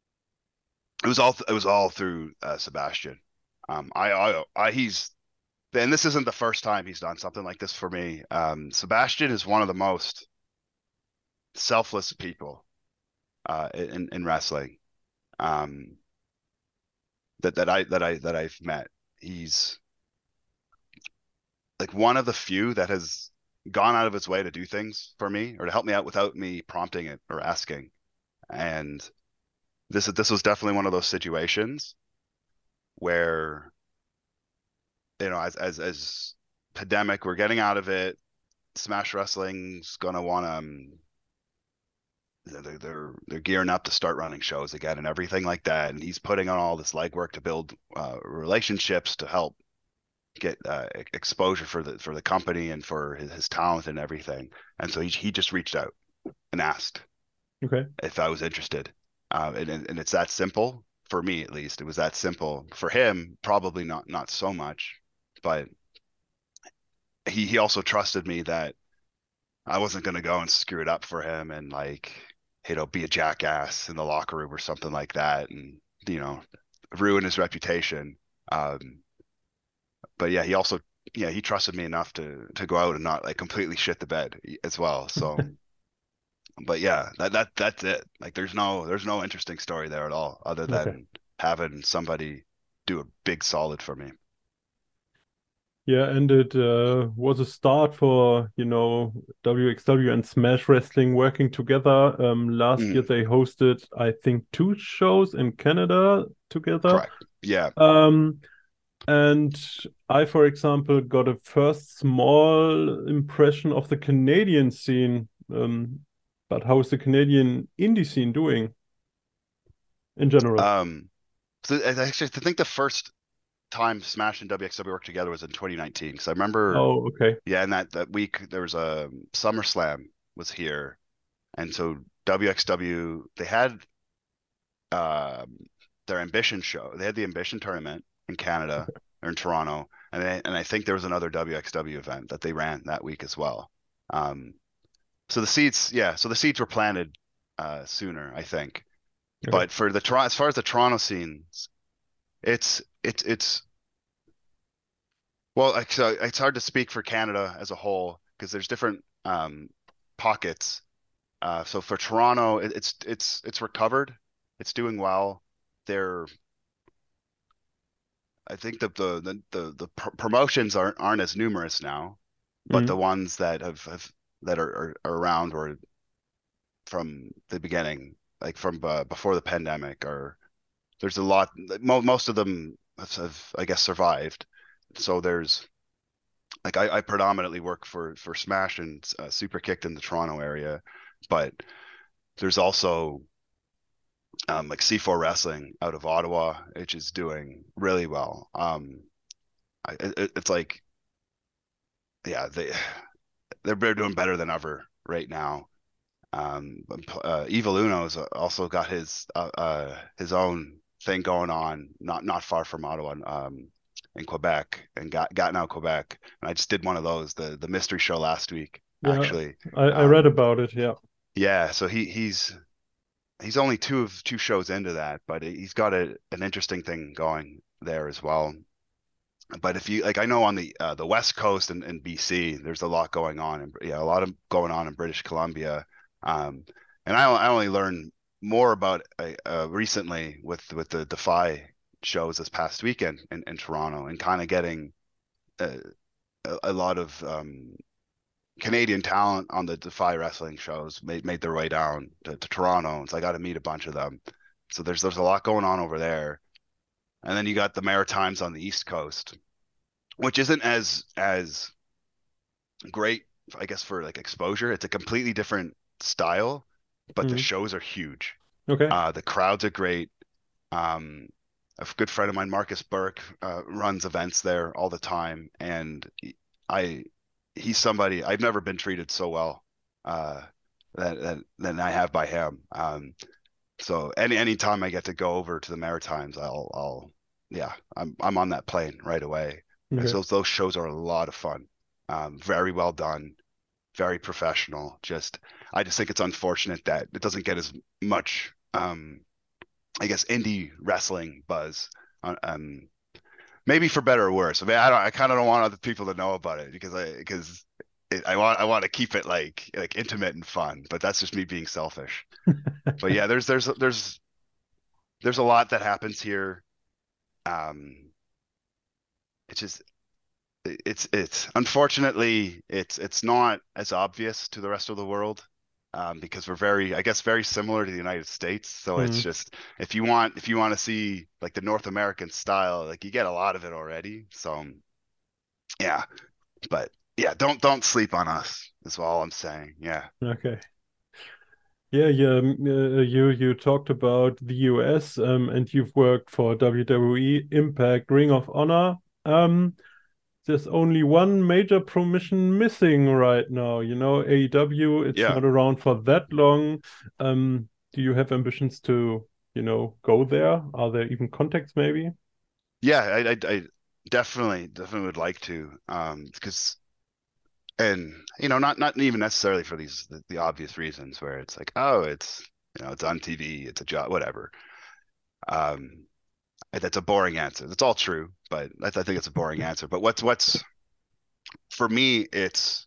[SPEAKER 2] it was all it was all through uh, Sebastian. Um, I, I I he's and this isn't the first time he's done something like this for me. Um, Sebastian is one of the most selfless people uh, in in wrestling um, that that I that I that I've met. He's like one of the few that has gone out of his way to do things for me or to help me out without me prompting it or asking. And this this was definitely one of those situations where you know as as as pandemic, we're getting out of it. Smash Wrestling's gonna want to um, they're, they're they're gearing up to start running shows again and everything like that. And he's putting on all this legwork to build uh, relationships to help get uh, exposure for the for the company and for his, his talent and everything. And so he he just reached out and asked
[SPEAKER 1] Okay.
[SPEAKER 2] if I was interested. Uh, and and it's that simple for me, at least. It was that simple for him. Probably not not so much, but he he also trusted me that I wasn't going to go and screw it up for him and like, you know, be a jackass in the locker room or something like that, and you know, ruin his reputation. Um, but yeah, he also, yeah, he trusted me enough to to go out and not like completely shit the bed as well. So, but yeah, that that that's it. Like, there's no there's no interesting story there at all, other
[SPEAKER 1] Okay.
[SPEAKER 2] than having somebody do a big solid for me.
[SPEAKER 1] Yeah, and it uh, was a start for, you know, W X W and Smash Wrestling working together. Um, last year
[SPEAKER 2] Mm,
[SPEAKER 1] they hosted, I think, two shows in Canada together.
[SPEAKER 2] correct. Yeah.
[SPEAKER 1] Um, and I, for example, got a first small impression of the Canadian scene. Um, but how is the Canadian indie scene doing in general?
[SPEAKER 2] Um, so I actually I think the first time Smash and W X W worked together was in twenty nineteen because I remember,
[SPEAKER 1] Oh, okay.
[SPEAKER 2] yeah, in that that week there was a SummerSlam was here, and so W X W, they had um, their Ambition show. They had the Ambition tournament in Canada or in Toronto, and they, and I think there was another W X W event that they ran that week as well. Um, so the seeds, yeah, so the seeds were planted uh, sooner, I think.
[SPEAKER 1] Okay.
[SPEAKER 2] But for the Toronto, as far as the Toronto scenes, it's it's it's well, like, so it's hard to speak for Canada as a whole because there's different um, pockets. Uh, so for Toronto, it, it's it's it's recovered. It's doing well. They're I think that the the the, the pr promotions aren't aren't as numerous now, but the
[SPEAKER 1] Mm.
[SPEAKER 2] ones that have, have that are, are, are around or from the beginning, like from uh, before the pandemic, are there's a lot. Mo most of them have, have, I guess, survived. So there's like I, I predominantly work for for Smash and uh, Super Kicked in the Toronto area, but there's also um, like C four Wrestling out of Ottawa, which is doing really well. Um, I, it, it's like yeah, they they're doing better than ever right now. Um, uh, Evil Uno's also got his uh, uh, his own thing going on, not not far from Ottawa, um, in Quebec, and got Gatineau, Quebec. And I just did one of those, the the mystery show last week,
[SPEAKER 1] Yeah,
[SPEAKER 2] actually.
[SPEAKER 1] I, I read
[SPEAKER 2] Um,
[SPEAKER 1] about it. Yeah.
[SPEAKER 2] yeah, so he he's he's only two of two shows into that, but he's got a an interesting thing going there as well. But if you like, I know on the uh, the West Coast and, and B C, there's a lot going on, and yeah, a lot of going on in British Columbia. Um, and I, I only learned more about uh, uh, recently with with the Defy shows this past weekend in, in Toronto, and kind of getting uh, a, a lot of um, Canadian talent on the Defy wrestling shows made made their way down to, to Toronto. So I got to meet a bunch of them. So there's there's a lot going on over there. And then you got the Maritimes on the East Coast, which isn't as as great, I guess, for like exposure. It's a completely different style, but the
[SPEAKER 1] Mm.
[SPEAKER 2] shows are huge.
[SPEAKER 1] Okay.
[SPEAKER 2] Uh, the crowds are great. Um, a good friend of mine, Marcus Burke, uh, runs events there all the time, and I, he's somebody I've never been treated so well uh, that, that than I have by him. Um, so any any time I get to go over to the Maritimes, I'll I'll yeah, I'm I'm on that plane right away. Because
[SPEAKER 1] Okay.
[SPEAKER 2] those those shows are a lot of fun. Um, very well done, very professional. Just I just think it's unfortunate that it doesn't get as much um I guess indie wrestling buzz. Uh, Um, maybe for better or worse. I mean, I don't I kind of don't want other people to know about it because I because it, I want I want to keep it like like intimate and fun, but that's just me being selfish. But yeah, there's there's there's there's a lot that happens here. Um, it's just it's it's unfortunately it's it's not as obvious to the rest of the world um, because we're very I guess very similar to the United States. So it's
[SPEAKER 1] Mm.
[SPEAKER 2] just if you want if you want to see like the North American style, like you get a lot of it already. So yeah, but yeah, don't don't sleep on us is all I'm saying. Yeah.
[SPEAKER 1] Okay. Yeah, yeah. um, Uh, you you talked about the U S, um, and you've worked for W W E, Impact, Ring of Honor. Um, there's only one major promotion missing right now. You know, A E W, it's
[SPEAKER 2] Yeah.
[SPEAKER 1] not around for that long. Um, do you have ambitions to, you know, go there? Are there even contacts maybe?
[SPEAKER 2] Yeah, I, I, I definitely definitely would like to um because and you know not not even necessarily for these the, the obvious reasons where it's like oh it's you know it's on T V it's a job whatever um that's a boring answer that's all true but that's, I think it's a boring answer but what's what's for me it's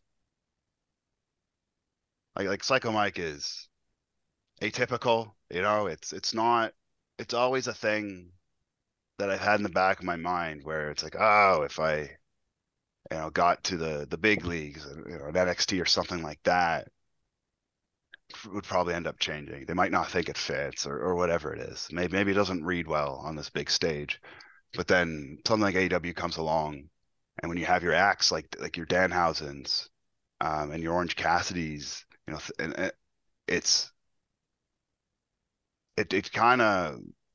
[SPEAKER 2] like like Psycho Mike is atypical you know it's it's not it's always a thing that I've had in the back of my mind where it's like oh if I you know got to the the big leagues you know an N X T or something like that would probably end up changing. They might not think it fits or, or whatever it is. Maybe maybe it doesn't read well on this big stage. But then something like A E W comes along, and when you have your acts like like your Danhausens, um, and your Orange Cassidy's, you know, and it, it's it it kind of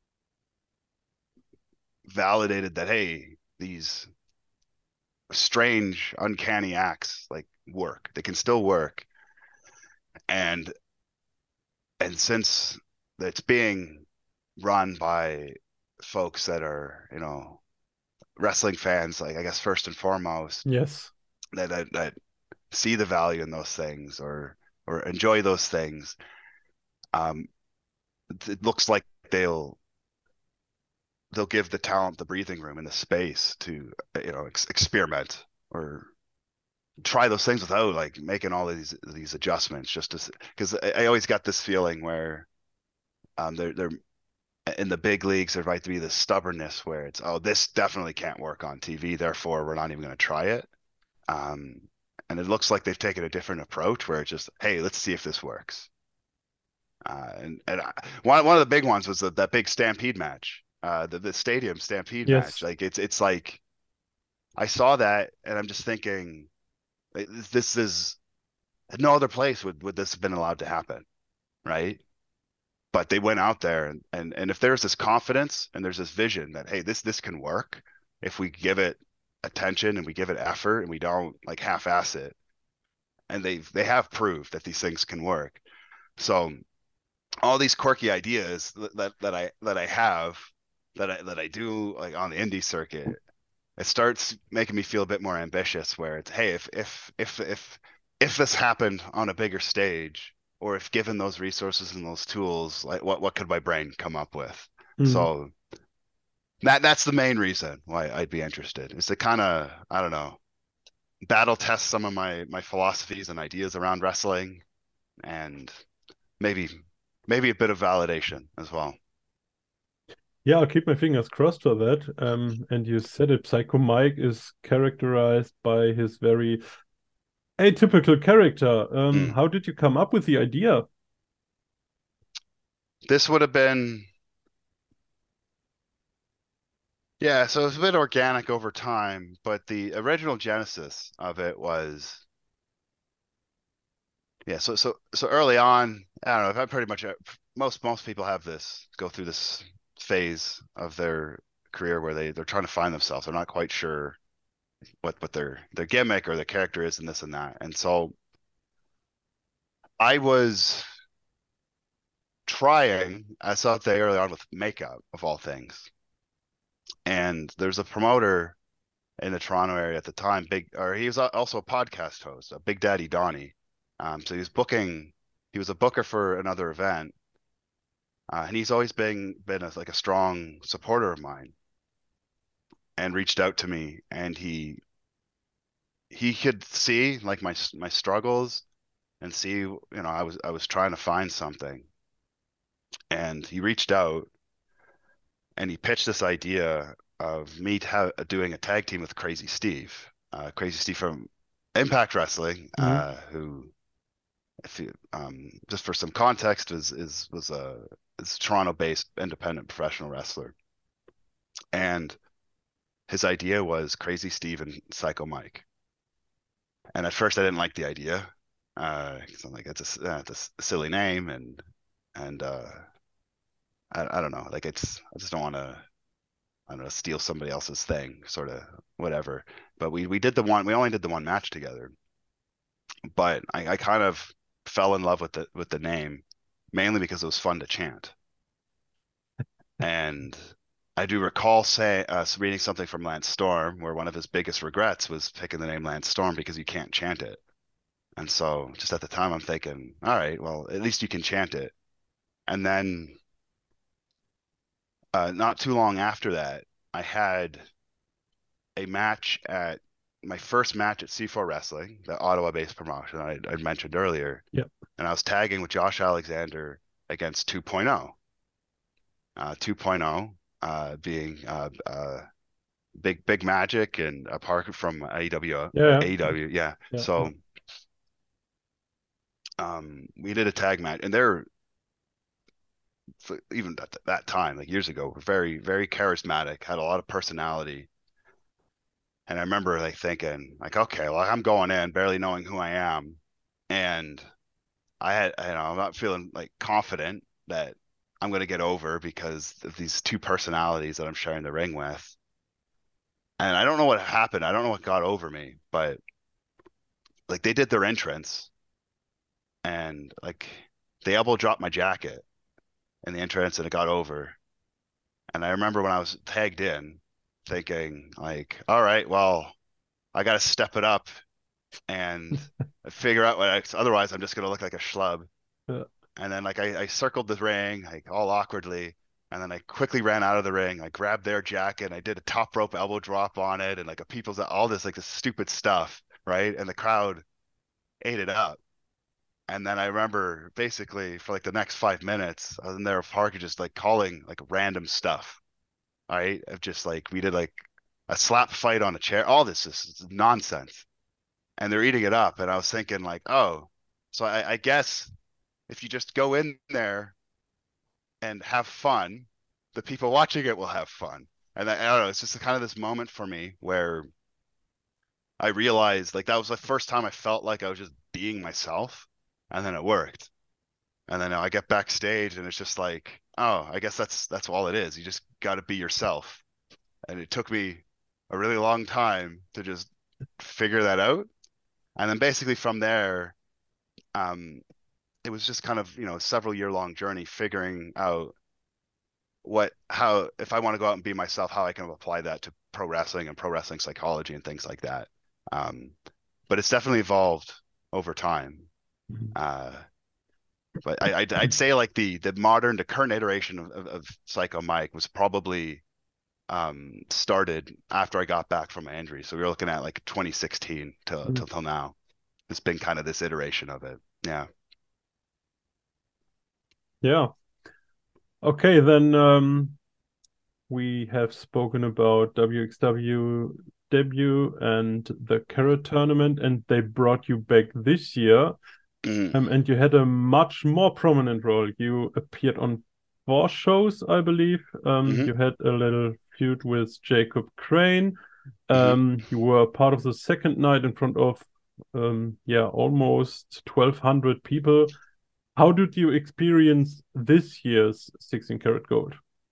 [SPEAKER 2] validated that hey, these strange, uncanny acts like work. They can still work, and and since it's being run by folks that are, you know, wrestling fans, like I guess first and foremost,
[SPEAKER 1] Yes.
[SPEAKER 2] that that, that see the value in those things or or enjoy those things, um, it looks like they'll they'll give the talent the breathing room and the space to, you know, ex experiment or try those things without like making all of these these adjustments just to because I, I always got this feeling where um they're they're in the big leagues there might be this stubbornness where it's, oh, this definitely can't work on T V, therefore we're not even going to try it. Um and it looks like they've taken a different approach where it's just, hey, let's see if this works. Uh, and and I, one one of the big ones was the, that big Stampede match, uh, the the stadium Stampede match.
[SPEAKER 1] Yes.
[SPEAKER 2] Like it's it's like I saw that and I'm just thinking, like, this is no other place would would this have been allowed to happen, right? But they went out there and and and if there's this confidence and there's this vision that, hey, this this can work if we give it attention and we give it effort and we don't like half-ass it, and they they have proved that these things can work. So all these quirky ideas that that I that I have that I that I do like on the indie circuit, it starts making me feel a bit more ambitious where it's, hey, if if if if if this happened on a bigger stage or if given those resources and those tools, like what what could my brain come up with?
[SPEAKER 1] Mm.
[SPEAKER 2] So that that's the main reason why I'd be interested, is to kind of, I don't know, battle test some of my my philosophies and ideas around wrestling, and maybe maybe a bit of validation as well.
[SPEAKER 1] Yeah, I'll keep my fingers crossed for that. Um, and you said it, Psycho Mike is characterized by his very atypical character. Um,
[SPEAKER 2] Mm.
[SPEAKER 1] how did you come up with the idea?
[SPEAKER 2] This would have been, yeah, so it's a bit organic over time, but the original genesis of it was, yeah, so so so early on, I don't know, if I pretty much, uh, most most people have this, go through this phase of their career where they they're trying to find themselves. They're not quite sure what what their their gimmick or their character is and this and that. And so I was trying, I saw that early on with makeup of all things. And there's a promoter in the Toronto area at the time, big, or he was also a podcast host, a Big Daddy Donnie. Um, so he was booking, he was a booker for another event, uh, and he's always been been a, like a strong supporter of mine, and reached out to me, and he he could see like my my struggles and see, you know, I was I was trying to find something, and he reached out and he pitched this idea of me ha doing a tag team with Crazy Steve, uh, Crazy Steve from Impact Wrestling,
[SPEAKER 1] Mm.
[SPEAKER 2] uh, who, if you, um, just for some context, is is was a is a Toronto-based independent professional wrestler, and his idea was Crazy Steve and Psycho Mike. And at first, I didn't like the idea, uh, 'cause I'm like, it's a, uh, it's a silly name, and and uh, I I don't know, like it's, I just don't want to, I don't know, steal somebody else's thing, sort of whatever. But we we did the one, we only did the one match together, but I, I kind of fell in love with the with the name mainly because it was fun to chant. And I do recall saying, uh, reading something from Lance Storm where one of his biggest regrets was picking the name Lance Storm because you can't chant it. And so just at the time I'm thinking, all right, well, at least you can chant it. And then uh, not too long after that, I had a match at my first match at C four Wrestling, the Ottawa-based promotion I, I mentioned earlier,
[SPEAKER 1] Yeah.
[SPEAKER 2] and I was tagging with Josh Alexander against 2.0. Uh, 2.0 uh, being uh, uh, Big Big Magic and a Parker from A E W, uh,
[SPEAKER 1] Yeah.
[SPEAKER 2] A E W, yeah.
[SPEAKER 1] Yeah. Yeah.
[SPEAKER 2] So um, we did a tag match, and they're, even at that time, like years ago, were very very charismatic, had a lot of personality. And I remember like thinking, like, okay, well, I'm going in barely knowing who I am, and I had, you know, I'm not feeling like confident that I'm going to get over because of these two personalities that I'm sharing the ring with. And I don't know what happened. I don't know what got over me, but like they did their entrance, and like they elbow dropped my jacket in the entrance and it got over. And I remember when I was tagged in thinking like, all right, well, I got to step it up and figure out what I, otherwise I'm just going to look like a schlub.
[SPEAKER 1] Yeah.
[SPEAKER 2] And then like I, I circled the ring like all awkwardly. And then I quickly ran out of the ring. I grabbed their jacket. And I did a top rope elbow drop on it and like a people's all this like this stupid stuff, right? And the crowd ate it up. And then I remember basically for like the next five minutes, I was in there with Parker just like calling like random stuff. All right. Of just like we did like a slap fight on a chair. All this is nonsense. And they're eating it up. And I was thinking like, oh, so I, I guess if you just go in there and have fun, the people watching it will have fun. And I, I don't know, it's just kind of this moment for me where I realized like that was the first time I felt like I was just being myself. And then it worked. And then I get backstage and it's just like, oh, I guess that's that's all it is. You just got to be yourself. And it took me a really long time to just figure that out. And then basically from there, um, it was just kind of, you know, several year long journey figuring out what, how, if I want to go out and be myself, how I can apply that to pro wrestling and pro wrestling psychology and things like that. Um, but it's definitely evolved over time. Uh, but I, I'd, I'd say like the the modern, the current iteration of, of, of Psycho Mike was probably um, started after I got back from my injury. So we were looking at like twenty sixteen till
[SPEAKER 1] Mm-hmm.
[SPEAKER 2] till, till now. It's been kind of this iteration of it. Yeah.
[SPEAKER 1] Yeah. Okay, then um, we have spoken about W X W debut and the Carrot tournament, and they brought you back this year.
[SPEAKER 2] Mm.
[SPEAKER 1] Um, and you had a much more prominent role. You appeared on four shows, I believe. Um,
[SPEAKER 2] hmm
[SPEAKER 1] you had a little feud with Jacob Crane.
[SPEAKER 2] hmm
[SPEAKER 1] Um, you were part of the second night in front of, um, yeah, almost twelve hundred people. How did you experience this year's sixteen karat gold?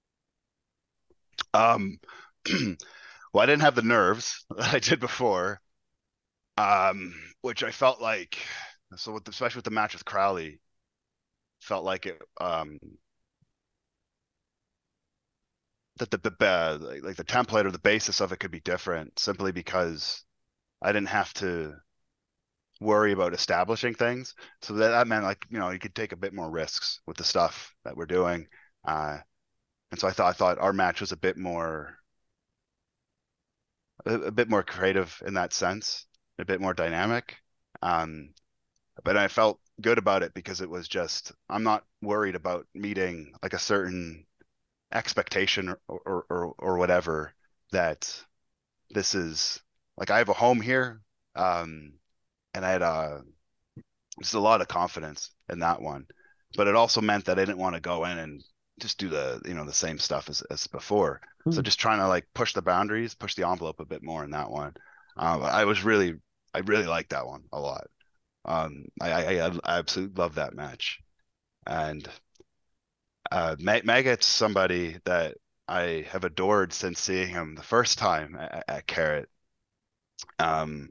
[SPEAKER 2] Um, well, I didn't have the nerves that I did before, um, which I felt like, so with, especially with the match with Crowley, felt like it, um, that the, the uh, like the template or the basis of it could be different simply because I didn't have to worry about establishing things. So that, that meant like, you know, you could take a bit more risks with the stuff that we're doing. Uh, and so I thought I thought our match was a bit more a, a bit more creative in that sense, a bit more dynamic. Um, but I felt good about it because it was just I'm not worried about meeting like a certain expectation or or or, or whatever that this is like I have a home here. Um, and I had a just a lot of confidence in that one. But it also meant that I didn't want to go in and just do the you know the same stuff as, as before. So
[SPEAKER 1] Hmm.
[SPEAKER 2] just trying to like push the boundaries, push the envelope a bit more in that one. Um, I was really I really liked that one a lot. Um, I, I, I absolutely love that match. And uh, Maggot's somebody that I have adored since seeing him the first time at, at Carrot. Um,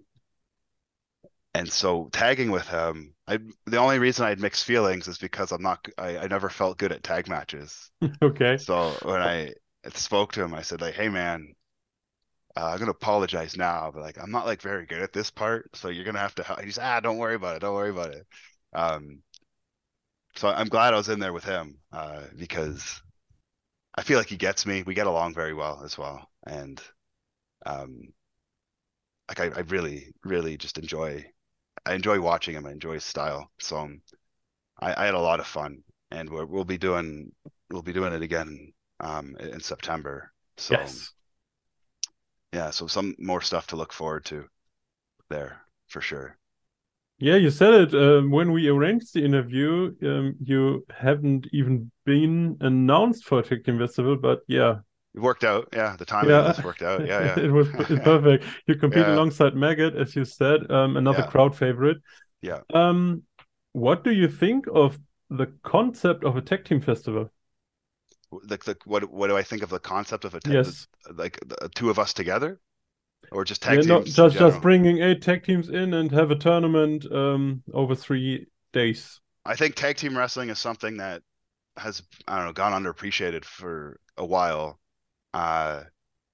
[SPEAKER 2] and so tagging with him, I the only reason I had mixed feelings is because I'm not I, I never felt good at tag matches.
[SPEAKER 1] Okay.
[SPEAKER 2] So when I spoke to him, I said like, "Hey man, uh, I'm gonna apologize now, but like I'm not like very good at this part, so you're gonna have to help." He's ah, don't worry about it, don't worry about it. Um, so I'm glad I was in there with him uh, because I feel like he gets me. We get along very well as well, and um, like I, I really, really just enjoy. I enjoy watching him. I enjoy his style. So um, I, I had a lot of fun, and we're, we'll be doing we'll be doing it again um, in September. So
[SPEAKER 1] Yes.
[SPEAKER 2] yeah, so some more stuff to look forward to there for sure.
[SPEAKER 1] Yeah, you said it um, when we arranged the interview. Um, you haven't even been announced for a Tech Team Festival, but yeah,
[SPEAKER 2] It worked out. Yeah, the timing of
[SPEAKER 1] yeah,
[SPEAKER 2] this worked out. Yeah,
[SPEAKER 1] it was p-
[SPEAKER 2] yeah,
[SPEAKER 1] perfect. You compete
[SPEAKER 2] yeah,
[SPEAKER 1] alongside Maggot, as you said, um, another
[SPEAKER 2] yeah,
[SPEAKER 1] crowd favorite.
[SPEAKER 2] yeah.
[SPEAKER 1] Um, what do you think of the concept of a Tech Team Festival?
[SPEAKER 2] Like the what what do I think of the concept of a te- the,
[SPEAKER 1] Yes.
[SPEAKER 2] like the two of us together or just tag
[SPEAKER 1] Yeah, not
[SPEAKER 2] teams in
[SPEAKER 1] just just
[SPEAKER 2] general?
[SPEAKER 1] bringing eight tech teams in and have a tournament um over three days.
[SPEAKER 2] I think tag team wrestling is something that has, I don't know, gone underappreciated for a while. Uh,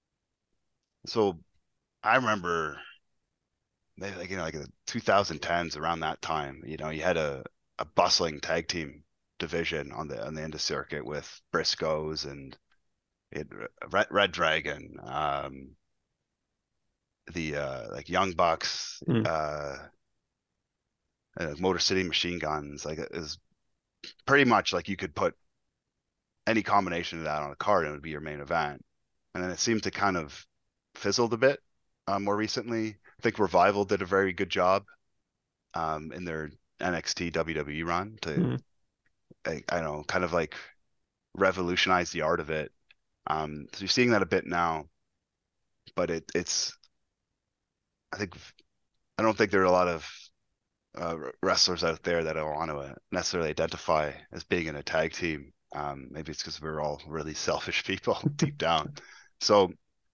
[SPEAKER 2] so I remember maybe like, you know, like the twenty tens, around that time, you know, you had a, a bustling tag team division on the on the indie circuit with Briscoes and it, Red, Red Dragon, um, the uh, like Young Bucks,
[SPEAKER 1] Mm.
[SPEAKER 2] uh, uh, Motor City Machine Guns. Like it is pretty much like you could put any combination of that on a card and it would be your main event. And then it seemed to kind of fizzled a bit uh, more recently. I think Revival did a very good job um, in their N X T W W E run to,
[SPEAKER 1] Mm.
[SPEAKER 2] I, I don't know, kind of like revolutionize the art of it. Um, so you're seeing that a bit now, but it it's I think I don't think there are a lot of uh, wrestlers out there that I want to necessarily identify as being in a tag team. Um, maybe it's because we're all really selfish people deep down. So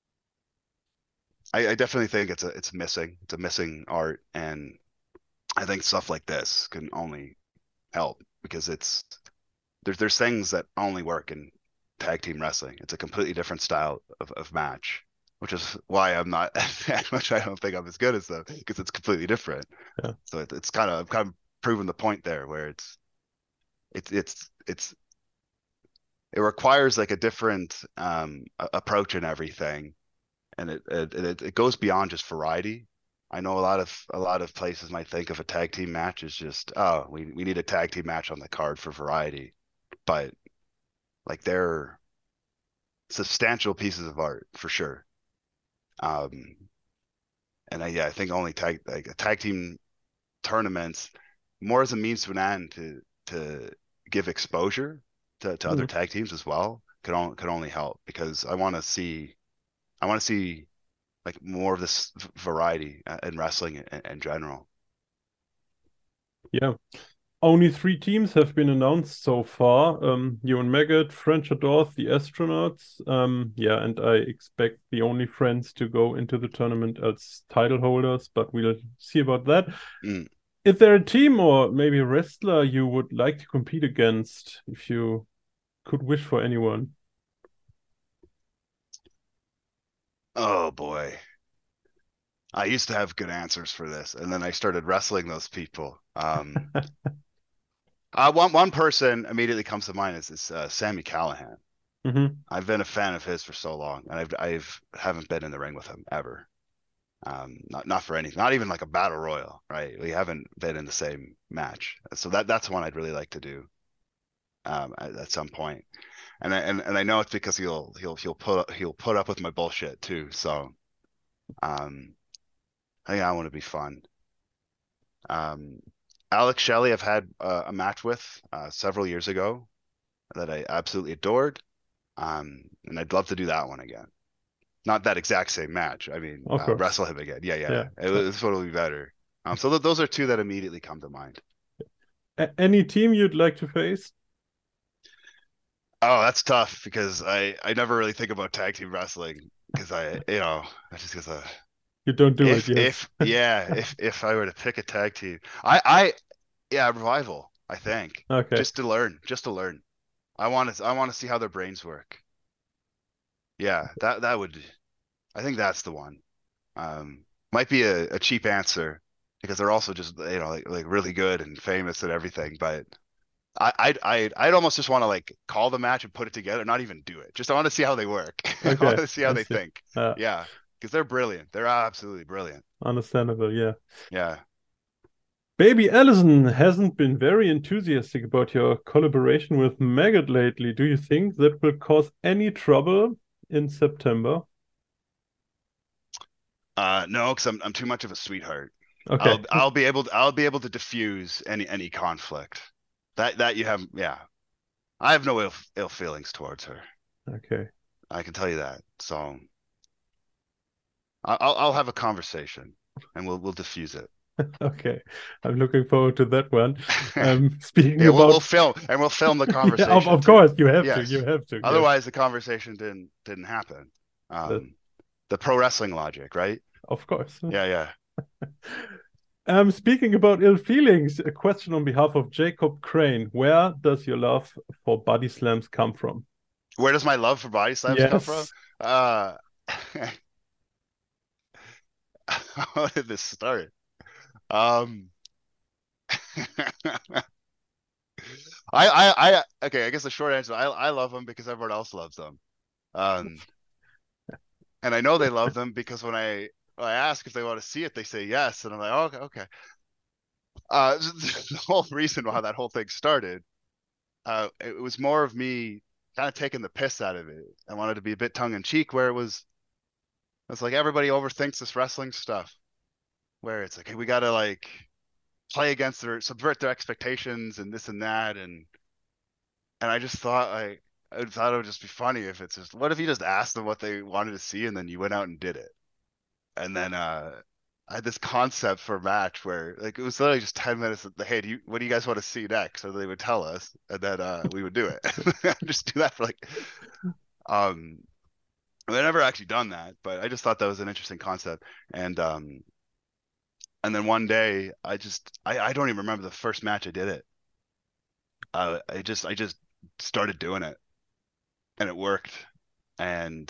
[SPEAKER 2] I, I definitely think it's a it's missing. It's a missing art, and I think stuff like this can only help because it's there's there's things that only work in tag team wrestling. It's a completely different style of, of match, which is why I'm not which I don't think I'm as good as them because it's completely different.
[SPEAKER 1] Yeah.
[SPEAKER 2] So it, it's kind of kind of proven the point there where it's it's it's it's it requires like a different um approach and everything, and it it it goes beyond just variety. I know a lot of a lot of places might think of a tag team match as just, oh, we we need a tag team match on the card for variety, but like they're substantial pieces of art for sure. Um, and I, yeah, I think only tag like a tag team tournaments more as a means to an end to to give exposure to, to other
[SPEAKER 1] Mm.
[SPEAKER 2] tag teams as well could only could only help because I want to see I want to see like more of this variety in wrestling in, in general.
[SPEAKER 1] Yeah. Only three teams have been announced so far. Um, Ewan Maggot, French Adorth, the Astronauts. Um, yeah, and I expect the Only Friends to go into the tournament as title holders, but we'll see about that.
[SPEAKER 2] Mm.
[SPEAKER 1] Is there a team or maybe a wrestler you would like to compete against if you could wish for anyone?
[SPEAKER 2] Oh boy. I used to have good answers for this, and then I started wrestling those people. Um, uh, one one person immediately comes to mind is this uh, Sammy Callahan.
[SPEAKER 1] Hmm.
[SPEAKER 2] I've been a fan of his for so long, and I've I've haven't been in the ring with him ever. Um, not not for anything, not even like a battle royal, right? We haven't been in the same match, so that that's one I'd really like to do um, at, at some point. And I, and and I know it's because he'll he'll he'll put he'll put up with my bullshit too. So um, I think I want to be fun. Um, Alex Shelley, I've had uh, a match with uh, several years ago that I absolutely adored, um, and I'd love to do that one again. Not that exact same match. I mean,
[SPEAKER 1] Of
[SPEAKER 2] uh,
[SPEAKER 1] course.
[SPEAKER 2] wrestle him again. Yeah, yeah.
[SPEAKER 1] Yeah.
[SPEAKER 2] It, this one will be better. Um, so th those are two that immediately come to mind.
[SPEAKER 1] A any team you'd like to face?
[SPEAKER 2] Oh, that's tough because I I never really think about tag team wrestling because I you know I just because uh,
[SPEAKER 1] You don't do it,
[SPEAKER 2] if
[SPEAKER 1] yes.
[SPEAKER 2] if yeah if if I were to pick a tag team I I yeah Revival I think
[SPEAKER 1] Okay.
[SPEAKER 2] just to learn just to learn I want to I want to see how their brains work. Yeah, that that would I think that's the one. Um, might be a, a cheap answer because they're also just you know like like really good and famous and everything, but I I'd I'd, I'd almost just want to like call the match and put it together, not even do it. Just I want to see how they work. I want
[SPEAKER 1] Okay.
[SPEAKER 2] to see how
[SPEAKER 1] I
[SPEAKER 2] they
[SPEAKER 1] see.
[SPEAKER 2] think.
[SPEAKER 1] Uh,
[SPEAKER 2] Yeah, because they're brilliant. They're absolutely brilliant.
[SPEAKER 1] understandable, yeah.
[SPEAKER 2] Yeah.
[SPEAKER 1] Baby Allison hasn't been very enthusiastic about your collaboration with Maggot lately. Do you think that will cause any trouble in September?
[SPEAKER 2] Uh, no, because I'm I'm too much of a sweetheart.
[SPEAKER 1] Okay.
[SPEAKER 2] I'll I'll be able to, I'll be able to diffuse any any conflict. That that you have, yeah. I have no ill ill feelings towards her.
[SPEAKER 1] Okay.
[SPEAKER 2] I can tell you that. So I- I'll I'll have a conversation and we'll we'll diffuse it.
[SPEAKER 1] Okay. I'm looking forward to that one. Um, speaking
[SPEAKER 2] Yeah, we'll we'll
[SPEAKER 1] about,
[SPEAKER 2] film and we'll film the
[SPEAKER 1] yeah, of,
[SPEAKER 2] conversation
[SPEAKER 1] of
[SPEAKER 2] too.
[SPEAKER 1] course, you have to. You
[SPEAKER 2] Yes.
[SPEAKER 1] have to. Yes.
[SPEAKER 2] Otherwise, the conversation didn't didn't happen.
[SPEAKER 1] That,
[SPEAKER 2] Um, the pro wrestling logic, right?
[SPEAKER 1] of course.
[SPEAKER 2] Yeah, yeah.
[SPEAKER 1] Um, speaking about ill feelings, a question on behalf of Jacob Crane. Where does your love for body slams come from?
[SPEAKER 2] Where does my love for body slams come from?
[SPEAKER 1] Yes.
[SPEAKER 2] Uh, how did this start? Um, I, I, I, okay, I guess the short answer, I, I love them because everyone else loves them. Um, and I know they love them because when I, when I ask if they want to see it, they say yes, and I'm like, oh, okay, okay. Uh, the whole reason why that whole thing started, uh, it was more of me kind of taking the piss out of it. I wanted to be a bit tongue in cheek, where it was, it's like everybody overthinks this wrestling stuff, where it's like, hey, we gotta like play against their, subvert their expectations and this and that, and and I just thought like I thought it would just be funny if it's just, what if you just asked them what they wanted to see and then you went out and did it, and then uh I had this concept for a match where like it was literally just ten minutes of the, hey, do you, what do you guys want to see next? So they would tell us, and then uh we would do it. Just do that for like um I've never actually done that, but I just thought that was an interesting concept. And um and then one day I just I, I don't even remember the first match I did it. Uh, I just I just started doing it and it worked. And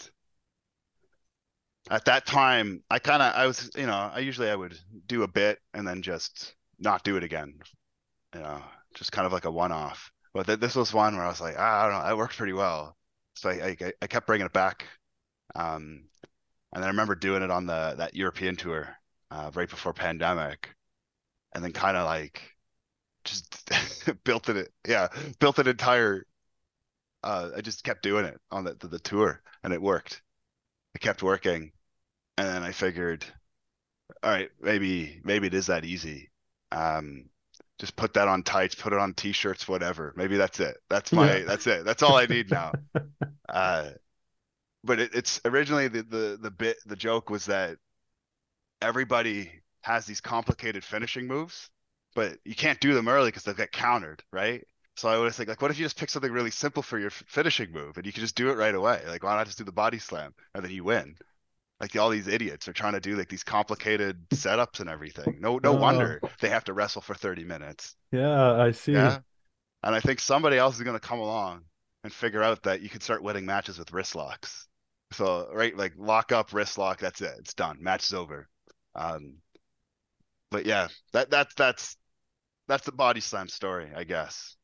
[SPEAKER 2] at that time, I kind of I was, you know, I usually I would do a bit and then just not do it again, you know, just kind of like a one-off. But th this was one where I was like, ah, I don't know, it worked pretty well. So I I, I kept bringing it back. Um, and then I remember doing it on the that European tour uh, right before pandemic, and then kind of like just built it. Yeah, built an entire. Uh, I just kept doing it on the, the the tour, and it worked. It kept working, and then I figured, all right, maybe maybe it is that easy. Um, just put that on tights, put it on t-shirts, whatever. Maybe that's it. That's
[SPEAKER 1] Yeah.
[SPEAKER 2] my that's it. That's all I need now. Uh, but it, it's originally the the the bit the joke was that everybody has these complicated finishing moves, but you can't do them early because they'll get countered, right? So I was think like, what if you just pick something really simple for your finishing move and you can just do it right away? Like, why not just do the body slam and then you win? Like all these idiots are trying to do like these complicated setups and everything. No, no
[SPEAKER 1] Oh,
[SPEAKER 2] wonder they have to wrestle for thirty minutes.
[SPEAKER 1] yeah, I see.
[SPEAKER 2] Yeah. And I think somebody else is going to come along and figure out that you can start winning matches with wrist locks. So, right, like lock up, wrist lock, that's it. It's done. Match is over. Um, but yeah, that that's that's that's the body slam story, I guess.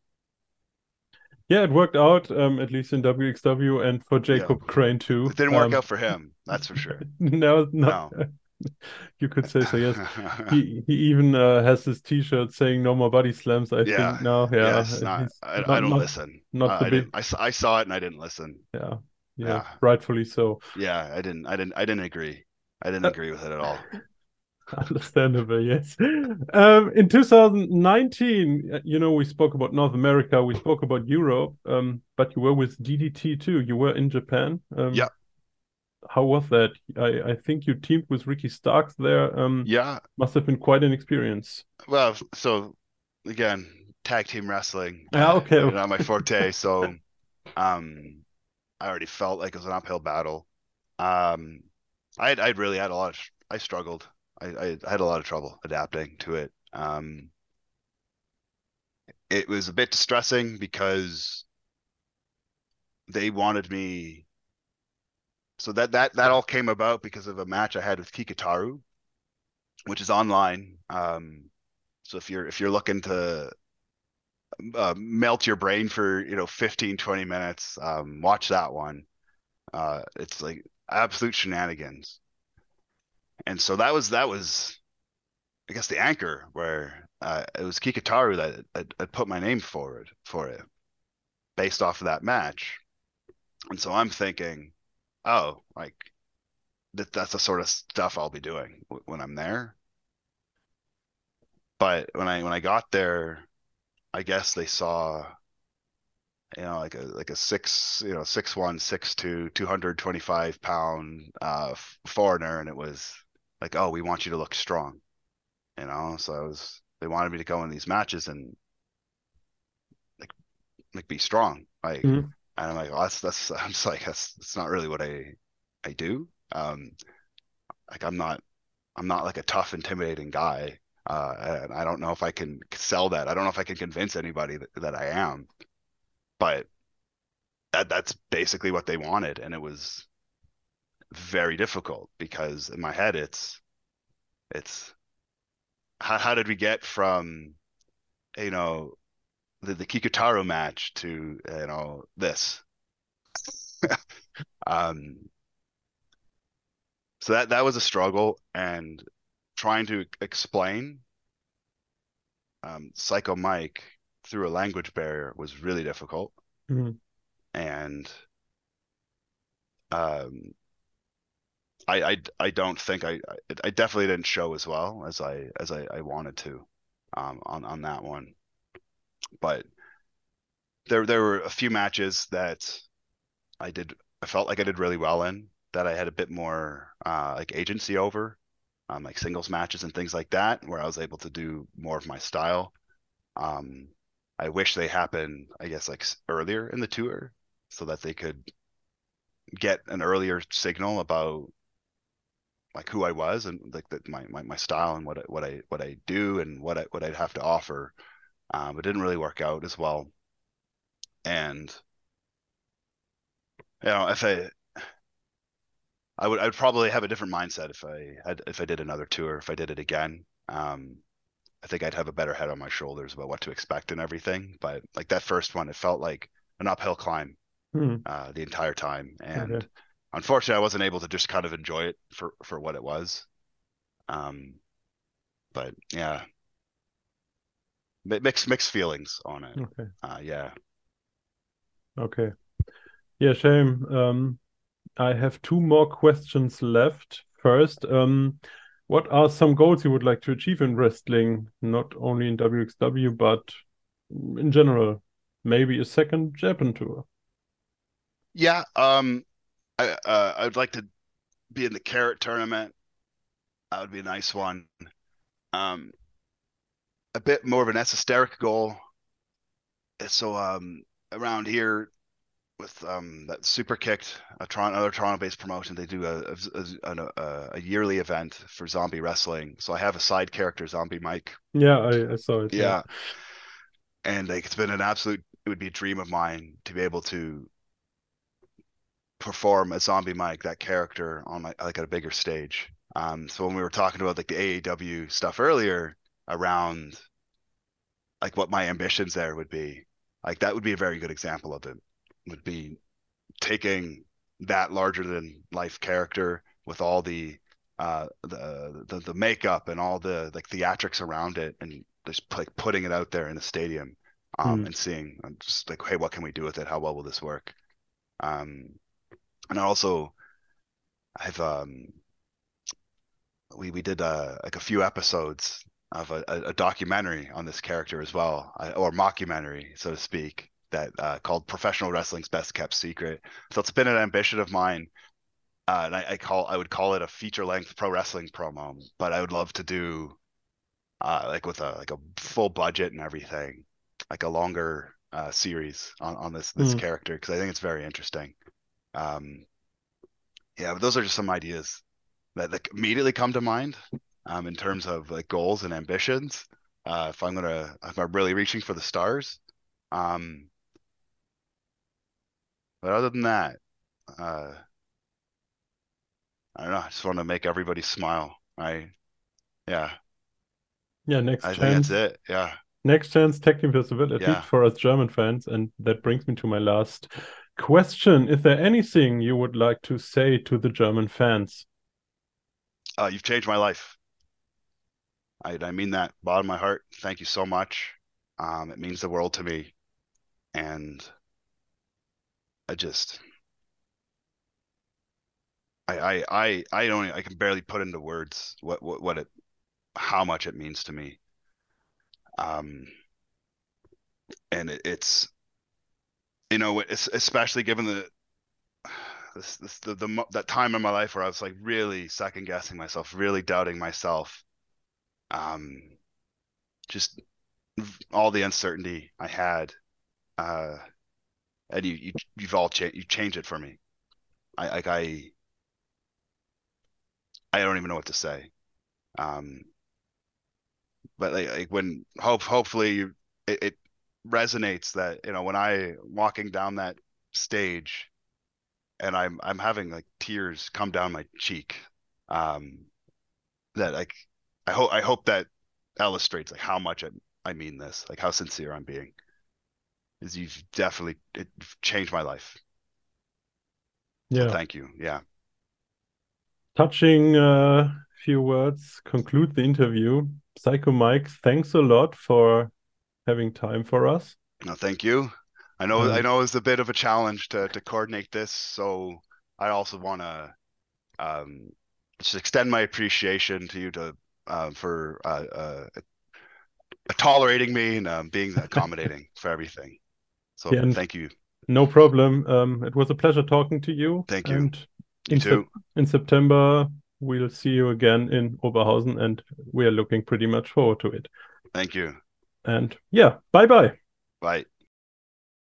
[SPEAKER 1] Yeah, it worked out, um, at least in W X W and for
[SPEAKER 2] Yeah,
[SPEAKER 1] Jacob Crane too.
[SPEAKER 2] it didn't work
[SPEAKER 1] Um,
[SPEAKER 2] out for him, that's for sure.
[SPEAKER 1] no, not
[SPEAKER 2] No.
[SPEAKER 1] you could say so, yes. He he even uh, has this T-shirt saying "No more body slams." I
[SPEAKER 2] Yeah,
[SPEAKER 1] think now, yeah,
[SPEAKER 2] yes, not
[SPEAKER 1] he's
[SPEAKER 2] I, I
[SPEAKER 1] not
[SPEAKER 2] don't
[SPEAKER 1] not
[SPEAKER 2] listen.
[SPEAKER 1] not the
[SPEAKER 2] I, I
[SPEAKER 1] big,
[SPEAKER 2] didn't. I, s- I saw it and I didn't listen.
[SPEAKER 1] yeah, yeah,
[SPEAKER 2] Yeah,
[SPEAKER 1] rightfully so.
[SPEAKER 2] yeah, I didn't. I didn't. I didn't agree. I didn't
[SPEAKER 1] Uh,
[SPEAKER 2] agree with it at all.
[SPEAKER 1] Understandable, yes. Um, in two thousand nineteen, uh, you know, we spoke about North America, we spoke about Europe, um, but you were with D D T too. You were in Japan. Um,
[SPEAKER 2] Yeah,
[SPEAKER 1] how was that? I, I think you teamed with Ricky Starks there. Um,
[SPEAKER 2] yeah.
[SPEAKER 1] must have been quite an experience.
[SPEAKER 2] Well, so again, tag team wrestling,
[SPEAKER 1] Yeah, okay,
[SPEAKER 2] uh,
[SPEAKER 1] okay.
[SPEAKER 2] not my forte. So, um, I already felt like it was an uphill battle. Um, I had, I had really had a lot of, I struggled. I, I, I had a lot of trouble adapting to it. Um, it was a bit distressing because they wanted me. So that that that all came about because of a match I had with Kikataru, which is online. Um, so if you're if you're looking to uh, melt your brain for you know fifteen twenty minutes, um, watch that one. Uh, it's like absolute shenanigans. And so that was that was I guess the anchor where uh, it was Kikataru that had, had put my name forward for it based off of that match. And so I'm thinking, oh, like that that's the sort of stuff I'll be doing w- when I'm there. But when I when I got there, I guess they saw, you know, like a like a six, you know, six one, six two, two hundred twenty five pound uh foreigner, and it was like, oh, we want you to look strong, you know. So I was they wanted me to go in these matches and like like be strong, like,
[SPEAKER 1] Mhm.
[SPEAKER 2] and I'm like, well, that's that's I'm just like that's that's not really what I I do. Um, like I'm not I'm not like a tough, intimidating guy. Uh, and I don't know if I can sell that. I don't know if I can convince anybody that, that I am, but that that's basically what they wanted. And it was very difficult because in my head, it's, it's how, how did we get from, you know, the, the Kikutaro match to, you know, this? Um, so that, that was a struggle, and trying to explain um, Psycho Mike through a language barrier was really difficult.
[SPEAKER 1] Mhm.
[SPEAKER 2] And um, I, I I don't think I I definitely didn't show as well as I as I, I wanted to um, on on that one. But there there were a few matches that I did I felt like I did really well in, that I had a bit more uh, like agency over, um, like singles matches and things like that, where I was able to do more of my style. Um, I wish they happened, I guess, like earlier in the tour, so that they could get an earlier signal about like who I was, and like that my, my my style and what I, what I what I do and what I what I'd have to offer. Um, it didn't really work out as well. And you know, if I I would I'd probably have a different mindset if I had if I did another tour, if I did it again. Um, I think I'd have a better head on my shoulders about what to expect and everything. But like that first one, it felt like an uphill climb
[SPEAKER 1] Hmm.
[SPEAKER 2] uh, the entire time,
[SPEAKER 1] Okay.
[SPEAKER 2] and unfortunately, I wasn't able to just kind of enjoy it for for what it was. Um, but yeah, mixed mixed feelings on it.
[SPEAKER 1] Okay.
[SPEAKER 2] Uh, yeah.
[SPEAKER 1] Okay. Yeah, shame. Um, I have two more questions left. First, um, what are some goals you would like to achieve in wrestling, not only in W X W, but in general? Maybe a second Japan tour.
[SPEAKER 2] Yeah, um, I uh, I would like to be in the Carrot tournament. That would be a nice one. Um, a bit more of an esoteric goal. So um, around here with um that Super Kicked, a Toronto, another Toronto-based promotion, they do a a, a a yearly event for zombie wrestling. So I have a side character, Zombie Mike.
[SPEAKER 1] Yeah, I, I saw it. Yeah.
[SPEAKER 2] Yeah, and like it's been an absolute. It would be a dream of mine to be able to perform as Zombie Mike, that character, on like, like at a bigger stage. Um, so when we were talking about like the A E W stuff earlier around like what my ambitions there would be, like that would be a very good example of it. Would be taking that larger than life character with all the uh the, the the makeup and all the like theatrics around it, and just like putting it out there in a stadium, um
[SPEAKER 1] Hmm.
[SPEAKER 2] and seeing um, just like, hey, what can we do with it? How well will this work? Um and also I've um we we did uh, like a few episodes of a, a, a documentary on this character as well, uh, or mockumentary, so to speak, that uh, called "Professional Wrestling's Best Kept Secret." So it's been an ambition of mine, uh, and I, I call I would call it a feature length pro wrestling promo. But I would love to do uh, like with a like a full budget and everything, like a longer uh, series on on this this
[SPEAKER 1] Hmm.
[SPEAKER 2] character, because I think it's very interesting. Um, yeah, but those are just some ideas that, that immediately come to mind um, in terms of like goals and ambitions. Uh, if I'm gonna, if I'm really reaching for the stars. Um, but other than that, uh, I don't know. I just want to make everybody smile. I, yeah,
[SPEAKER 1] Yeah, next
[SPEAKER 2] I think that's
[SPEAKER 1] chance.
[SPEAKER 2] it. Yeah,
[SPEAKER 1] Next chance tag team festival, at least
[SPEAKER 2] yeah.
[SPEAKER 1] for us German fans. And that brings me to my last question. Is there anything you would like to say to the German fans?
[SPEAKER 2] Uh, you've changed my life. I, I mean that bottom of my heart. Thank you so much. Um, it means the world to me, and I just, I, I, I, I don't, I can barely put into words what, what, what it, how much it means to me. Um, and it, it's you know, it's, especially given the this, this the, the that time in my life where I was like really second guessing myself, really doubting myself, um, just all the uncertainty I had, uh, and you you you've all changed you changed it for me. I like I I don't even know what to say. Um, but like, like when hope hopefully you, it, it resonates that, you know, when I walking down that stage and I'm I'm having like tears come down my cheek, um, that like I hope I hope that illustrates like how much I, I mean this, like how sincere I'm being. Is you've definitely it changed my life. So
[SPEAKER 1] Yeah.
[SPEAKER 2] thank you. Yeah.
[SPEAKER 1] Touching uh, few words conclude the interview. Psycho Mike, thanks a lot for having time for us.
[SPEAKER 2] No, thank you. I know I
[SPEAKER 1] And
[SPEAKER 2] know it's a bit of a challenge to to coordinate this, so I also want to um just extend my appreciation to you to uh, for uh, uh, tolerating me and um, being accommodating for everything. So
[SPEAKER 1] yeah, and
[SPEAKER 2] thank you.
[SPEAKER 1] no problem. Um, it was a pleasure talking to you.
[SPEAKER 2] Thank you.
[SPEAKER 1] And
[SPEAKER 2] You
[SPEAKER 1] in sep
[SPEAKER 2] too.
[SPEAKER 1] in September, we'll see you again in Oberhausen, and we are looking pretty much forward to it.
[SPEAKER 2] Thank you.
[SPEAKER 1] And yeah, bye bye.
[SPEAKER 2] Bye.